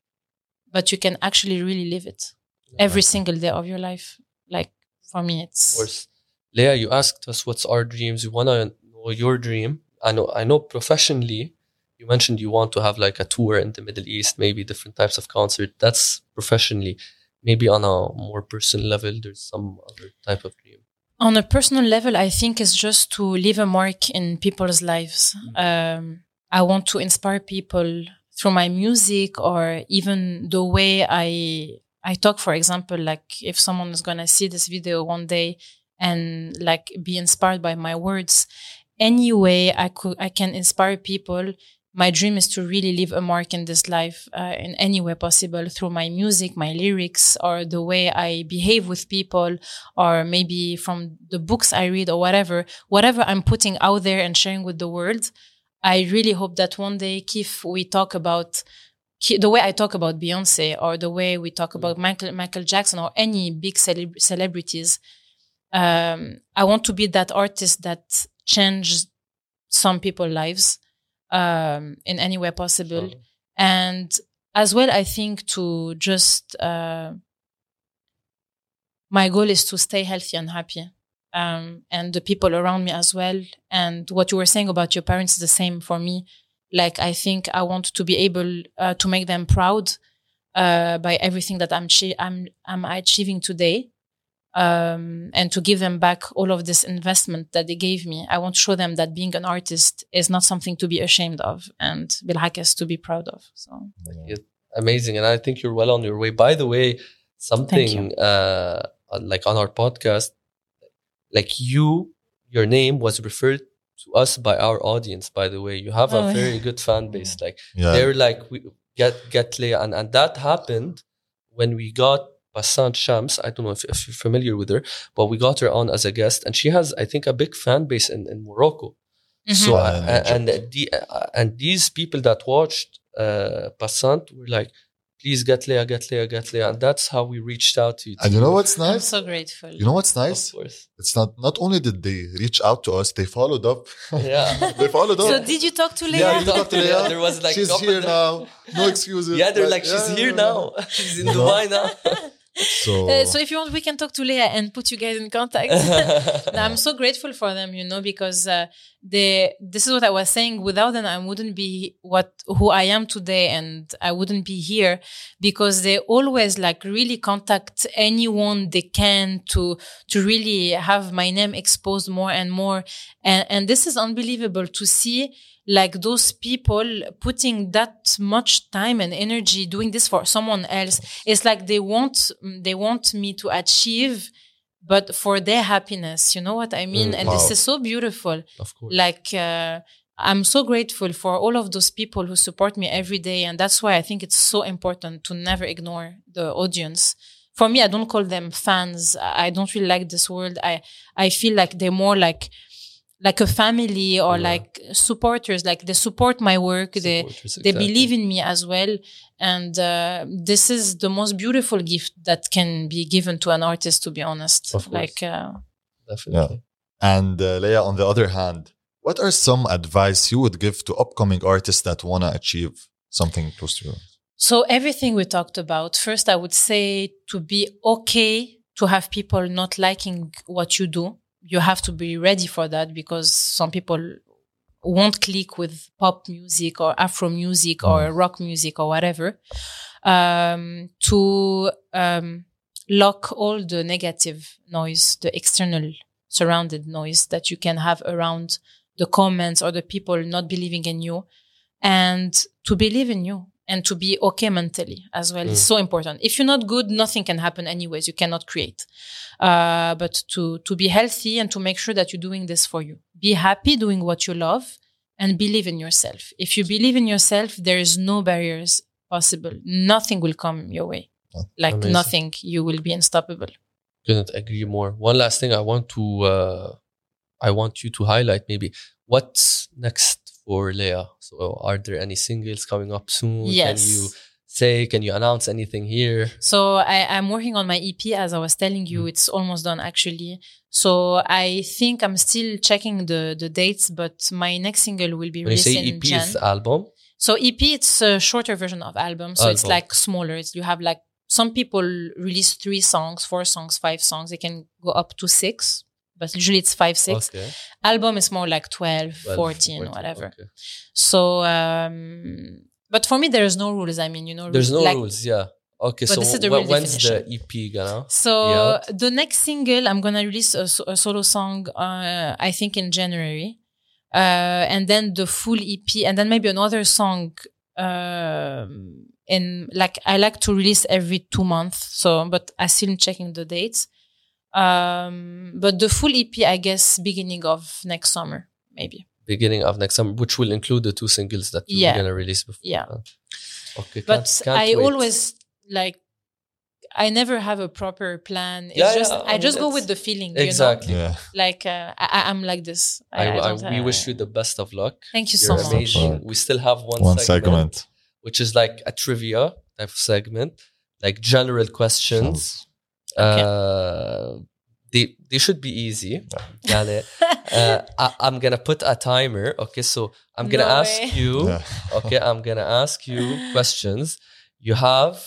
but you can actually really live it every single day of your life. Like, for me, it's... Of course. Leah, you asked us what's our dreams. We want to know your dream. I know, I know professionally, you mentioned you want to have like a tour in the Middle East, maybe different types of concert. That's professionally. Maybe on a more personal level, there's some other type of dream. On a personal level, I think it's just to leave a mark in people's lives. Um, I want to inspire people through my music, or even the way I I talk. For example, like if someone is gonna see this video one day and like be inspired by my words, any way I could, I can inspire people. My dream is to really leave a mark in this life uh, in any way possible, through my music, my lyrics, or the way I behave with people, or maybe from the books I read, or whatever, whatever I'm putting out there and sharing with the world. I really hope that one day, Keith, we talk about the way I talk about Beyonce, or the way we talk about Michael, Michael Jackson, or any big celeb- celebrities. Um, I want to be that artist that changed some people's lives. Um, in any way possible. Sure. And as well, I think to just, uh, my goal is to stay healthy and happy. Um, and the people around me as well. And what you were saying about your parents is the same for me. Like, I think I want to be able uh, to make them proud uh, by everything that I'm, chi- I'm, I'm achieving today. Um, and to give them back all of this investment that they gave me. I want to show them that being an artist is not something to be ashamed of, and بالعكس to be proud of. So yeah. Amazing. And I think you're well on your way. By the way, something uh, like on our podcast, like you, your name was referred to us by our audience, by the way. You have oh, a very yeah. good fan base. Like yeah. they're like, we get, get Leah. And, and that happened when we got Bassant Shams. I don't know if, if you're familiar with her, but we got her on as a guest, and she has, I think, a big fan base in, in Morocco. Mm-hmm. So, uh, and the, uh, and these people that watched uh, Bassant were like, please get Leah, get Leah, get Leah. And that's how we reached out to you. And you know what's nice? I'm so grateful. You know what's nice? Of course. It's not, not only did they reach out to us, they followed up. Yeah. They followed up. So did you talk to Leah? Yeah, you talked to Leah. There was like, she's here now. No excuses. Yeah, they're like, like, she's yeah, here yeah, now. She's in Dubai now. So, uh, so if you want, we can talk to Leah and put you guys in contact. No, I'm so grateful for them, you know, because uh, they. This is what I was saying. Without them, I wouldn't be what who I am today, and I wouldn't be here, because they always like really contact anyone they can to to really have my name exposed more and more, and and this is unbelievable to see. Like those people putting that much time and energy doing this for someone else. It's like they want, they want me to achieve but for their happiness. You know what I mean? Mm, and wow. this is so beautiful. Of course. Like, uh, I'm so grateful for all of those people who support me every day. And that's why I think it's so important to never ignore the audience. For me, I don't call them fans. I don't really like this word. I, I feel like they're more like, like a family or Yeah. like supporters. Like they support my work. They, Supporters, they exactly. believe in me as well. And uh, this is the most beautiful gift that can be given to an artist, to be honest. Of course. Like, uh, Definitely. And uh, Leia, on the other hand, what are some advice you would give to upcoming artists that want to achieve something close to you? so everything we talked about, first, I would say to be okay to have people not liking what you do. You have to be ready for that because some people won't click with pop music or Afro music or rock music or whatever. Um, to um, lock all the negative noise, the external surrounded noise that you can have around the comments or the people not believing in you, and to believe in you and to be okay mentally as well. Mm. It's so important. If you're not good, nothing can happen anyways. You cannot create. Uh, but to, to be healthy and to make sure that you're doing this for you. Be happy doing what you love and believe in yourself. If you believe in yourself, there is no barriers possible. Nothing will come your way. Like Amazing. nothing. You will be unstoppable. Couldn't agree more. One last thing I want to, uh, I want you to highlight maybe what's next for Leia. So are there any singles coming up soon? Yes. Can you say, can you announce anything here? So I, I'm working on my E P, as I was telling you. Mm. It's almost done, actually. So I think I'm still checking the, the dates, but my next single will be When you released say E in P, Jan. it's the album. So E P, it's a shorter version of album. So it's Album. like smaller. It's, you have like, some people release three songs, four songs, five songs. They can go up to six, but usually it's five, six. Okay. Album is more like twelve, Well, fourteen, whatever. Okay. So, um, but for me, there is no rules. I mean, you know, There's no like, rules, yeah. Okay, But so this is the wh- real when's the definition. E P gonna? So Yeah. the next single, I'm gonna release a, so- a solo song. Uh, I think in January, uh, and then the full E P, and then maybe another song. Um, in like I like to release every two months. So, but I still am checking the dates. Um, but the full E P, I guess, beginning of next summer, maybe. Beginning of next summer, which will include the two singles that you're Yeah. gonna release before. Yeah. Uh, Okay. But can't- can't I wait. always like. I never have a proper plan. It's Yeah, just yeah, I I, mean, just go it's- with the feeling. You know? Exactly. Yeah. Like uh, I, I- I'm like this. I, I, don't, we uh, wish you the best of luck. Thank you You're so much. amazing. much. We still have one, One segment, segment. which is like a trivia type of segment, like general questions. Okay. Uh, they they should be easy. يعني, uh, I, I'm gonna put a timer. Okay, so I'm gonna No ask way. you. Yeah. Okay, I'm gonna ask you questions. You have.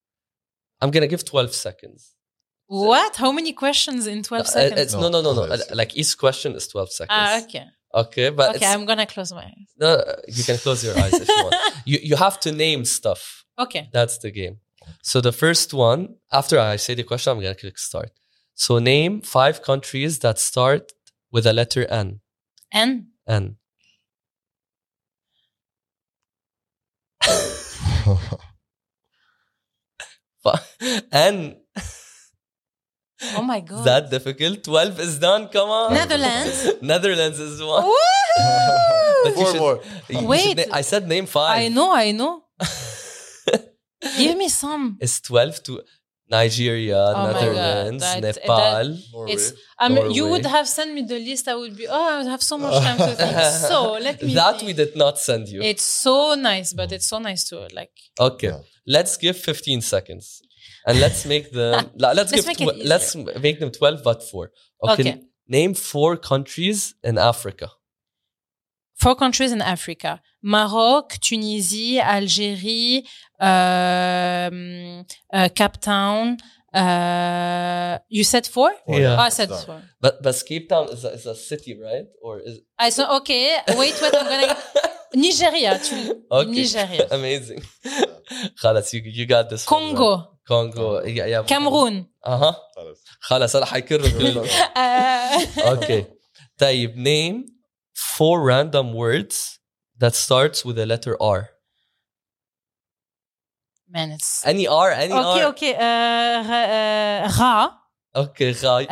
I'm gonna give twelve seconds. What? How many questions in twelve Uh, seconds? It's, no, no, no, no. No. Like each question is twelve seconds. Ah, okay. Okay, but Okay, it's, I'm gonna close my eyes. no, you can close your eyes if you want. You you have to name stuff. Okay. That's the game. So the first one, after I say the question, I'm gonna click start. So name five countries that start with a letter N. N. N. N. Oh my god. That difficult? twelve is done. Come on. Netherlands. Netherlands is one. Woo! But you Four should- more. you should Wait. na- I said name five. I know. I know. Give me some. It's twelve to Nigeria, Oh my God, Netherlands, that- Nepal. Norway. It's. Um, you would Norway. have sent me the list. I would be. Oh, I would have so much time to think. So let me. That think. we did not send you. It's so nice, but it's so nice to like. Okay, Yeah. let's give fifteen seconds, and let's make them. la- let's, Let's give. make it tw- let's make them twelve, but four. Okay. Okay. Name four countries in Africa. Four countries in Africa: Maroc, Tunisie, Algerie, um, uh, Cape Town. Uh, you said four? Four, Yeah. Oh, I said Done. four. But but Cape Town is a, is a city, right? Or is I said okay. Wait, wait. I'm gonna Nigeria. Tu- okay? Nigeria. Amazing. خلاص, you you got this. one, right? Congo. Congo. Yeah, yeah. Cameroon. اها خلاص. خلاص انا حيكرر كلهم. Uh, Okay. طيب, name four random words that starts with the letter R. Man, it's Any R, any okay. R. Okay. Uh, ra- uh, Ra. Okay, Rai.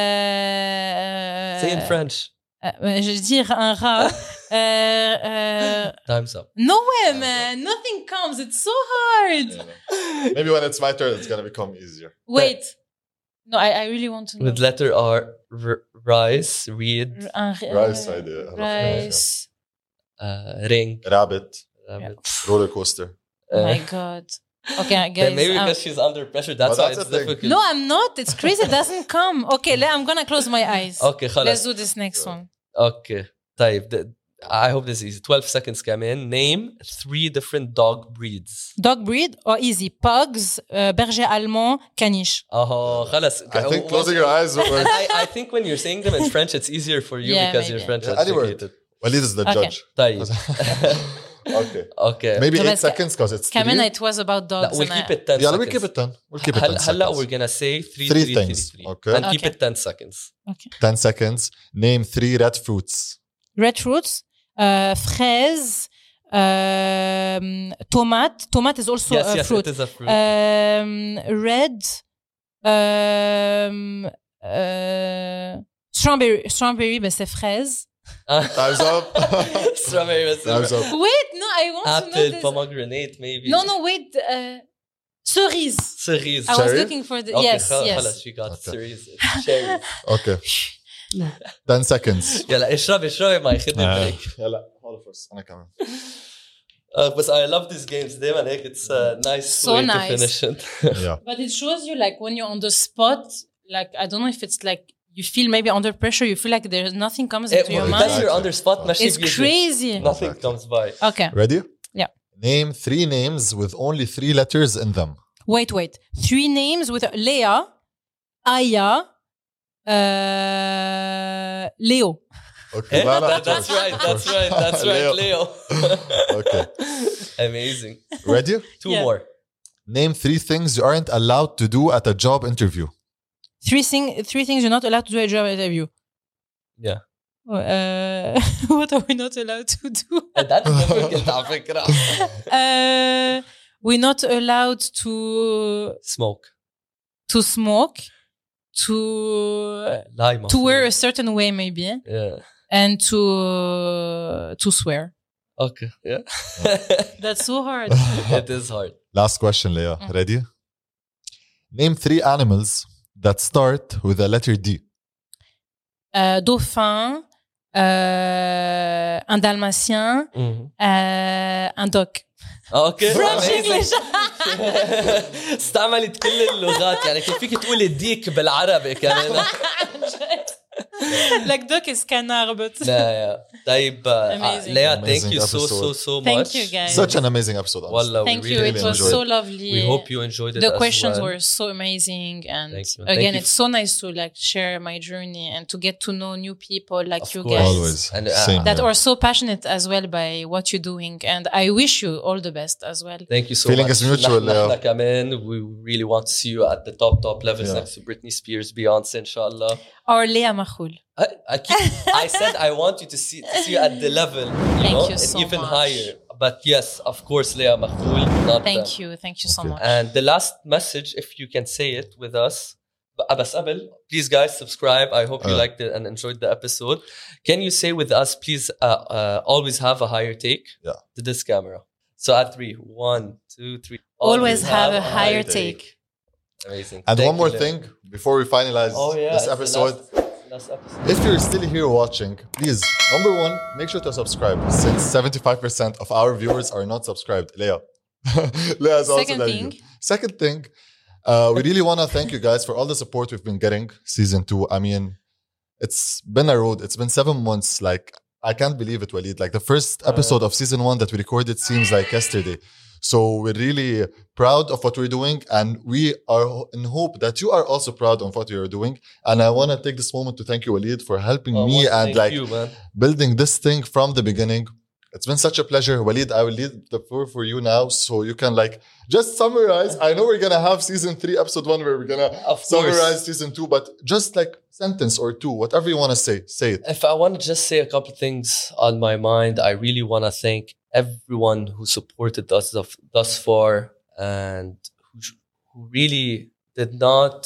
Euh, Say in French. euh, je vais dire un rat. euh, euh, Time's up. no way, man. Nothing comes. It's so hard. Maybe when it's my turn, it's gonna become easier. Wait. No, I, I really want to know. With letter R, r- rice, read, Un, Rice idea. Rice. uh, ring. Rabbit, rabbit. roller coaster. Oh my Uh, God. Okay, yeah, guys. maybe um, because she's under pressure. That's But why that's it's the thing. difficult. no, I'm not. It's crazy. It doesn't come. Okay, le- I'm gonna close my eyes. Okay, Let's خلاص. do this next one. Okay. طيب. The, I hope this is easy. twelve seconds come in. Name three different dog breeds. Dog breed or easy? Pugs, uh, berger allemand, caniche. Oh, خلاص. I think closing your eyes. And I, I think when you're saying them in French, it's easier for you Yeah, because maybe. you're French Yeah, any word. educated. Walid is the Okay. judge. طيب. Okay. Okay. Maybe So eight let's- seconds because it's Kamen, three. it was about No, dogs. we'll and keep I- it ten Yeah, seconds. we'll keep it ten. We'll keep it هل- ten هلا seconds. we're gonna say three, Three three, things, three, three. okay? And keep Okay. it ten seconds. ten seconds. Name three red fruits. Red fruits, uh, fraise, um, tomate. Tomate is also yes, a yes, fruit. it is a fruit. Um, red, um, uh, strawberry. Strawberry, but c'est fraise. Time's up. Strawberry was Time's up. Wait, no, I want to know apple, this. pomegranate, maybe. No, no, wait. Uh, cerise. Cerise. I was Cherry? looking for the Okay, yes, خلاص yes. she got Okay. cerise. Cherries. Okay. ten seconds. يلا اشرب اشرب ما ياخذني بريك. يلا all of us. أنا كمان. Uh, but I love these games دايما هيك it's a nice So way nice. to finish it. Yeah. But it shows you like when you're on the spot, like I don't know if it's like you feel maybe under pressure, you feel like there's nothing comes Eh, into your because mind. you're under spot ماشي It's بيجي. crazy. Nothing comes by. Okay. Ready? Yeah. Name three names with only three letters in them. Wait, wait. Three names with Leah, Aya, uh, Leo. Okay. Eh? لا, لا, That- that's right, that's right, that's right, Leo. Okay. Amazing. Ready? Two Yeah. more. Name three things you aren't allowed to do at a job interview. Three thing, three things you're not allowed to do at a job interview. Yeah. Uh, what are we not allowed to do? And that's difficult على فكرة. Uh, we're not allowed to Smoke. to smoke, to lie to wear a certain way maybe, Yeah. and to to swear. Okay. Yeah. That's so hard. It is hard. Last question, Leah. Mm. Ready? Name three animals that start with the letter D. Uh, dauphin, uh, un dalmatien, Mhm. uh, un doc. اوكي French Amazing. English. استعملت كل اللغات يعني كيف فيك تقولي ديك بالعربي كمان. Like doc is canard, but لا يا طيب Amazing. ليا thank Amazing you so so episode. so much. Thank you guys. Such an amazing episode. honestly. والله Thank we you. really It was enjoyed so it. lovely. We hope you enjoyed it The as questions well. were so amazing, and Thank you. Thank again, you. it's so nice to like share my journey and to get to know new people like Of you course. guys Always. And, uh, Same that here. are so passionate as well by what you're doing, and I wish you all the best as well. Thank you so Feeling much. is mutual, نحن- yeah. نحن كمان we really want to see you at the top top levels Yeah. next to Britney Spears, Beyonce إن شاء الله. Or Leah Machoul. I, I, keep, I said I want you to see to see you at the level, you Thank know, you and so even much. higher. But yes, of course, Leah Makhloul. Not Thank them. you, thank you so Okay. much. And the last message, if you can say it with us, but بس قبل, please guys subscribe. I hope you Uh. liked it and enjoyed the episode. Can you say with us, please, uh, uh, always have a higher take Yeah. to this camera. So at three, one, two, three. Always have a higher take. Amazing. And Thank one you, more Leah. thing before we finalize Oh yeah, this it's the episode. Last, last episode. If you're still here watching, please, number one, make sure to subscribe since seventy-five percent of our viewers are not subscribed. Leah. Leah is also Second there. thing. Second thing, uh, we really want to thank you guys for all the support we've been getting season two. I mean, it's been a road. It's been seven months. Like, I can't believe it, Walid. Like, the first episode of season one that we recorded seems like yesterday. So we're really proud of what we're doing, and we are in hope that you are also proud of what you're doing. And I want to take this moment to thank you, Walid, for helping Oh, me well, and thank like you, man. building this thing from the beginning. It's been such a pleasure. Walid, I will leave the floor for you now so you can like just summarize. I know we're gonna have season three, episode one, where we're gonna Of course. summarize season two, but just like sentence or two, whatever you want to say, say it. If I want to just say a couple things on my mind, I really want to thank everyone who supported us thus, thus far and who, who really did not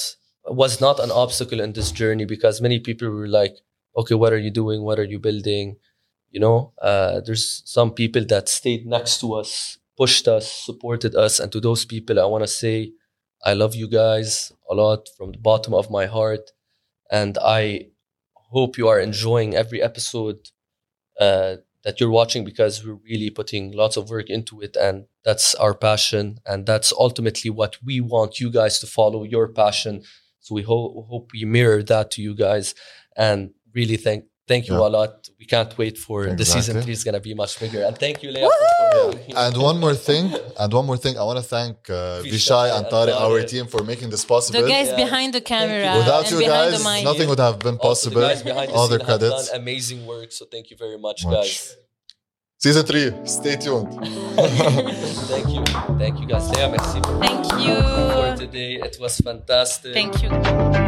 was not an obstacle in this journey, because many people were like, okay, what are you doing? What are you building? You know, uh, there's some people that stayed next to us, pushed us, supported us. And to those people, I want to say, I love you guys a lot from the bottom of my heart. And I hope you are enjoying every episode uh, that you're watching, because we're really putting lots of work into it. And that's our passion. And that's ultimately what we want you guys to follow, your passion. So we ho- hope we mirror that to you guys. And really thank Thank you yeah. a lot. We can't wait for exactly. the season three is going to be much bigger. And thank you, Leah. For, for yeah. And one more thing, and one more thing, I want to thank uh, Vishay and Tariq, our team, for making this possible. The guys yeah. behind the camera. You. Without you guys, nothing would have been possible. Also, the guys all the the credits. Have done amazing work. So thank you very much, much. guys. Season three, stay tuned. Thank you. Thank you, guys. Leah, merci. Thank you. For today. It was fantastic. Thank you.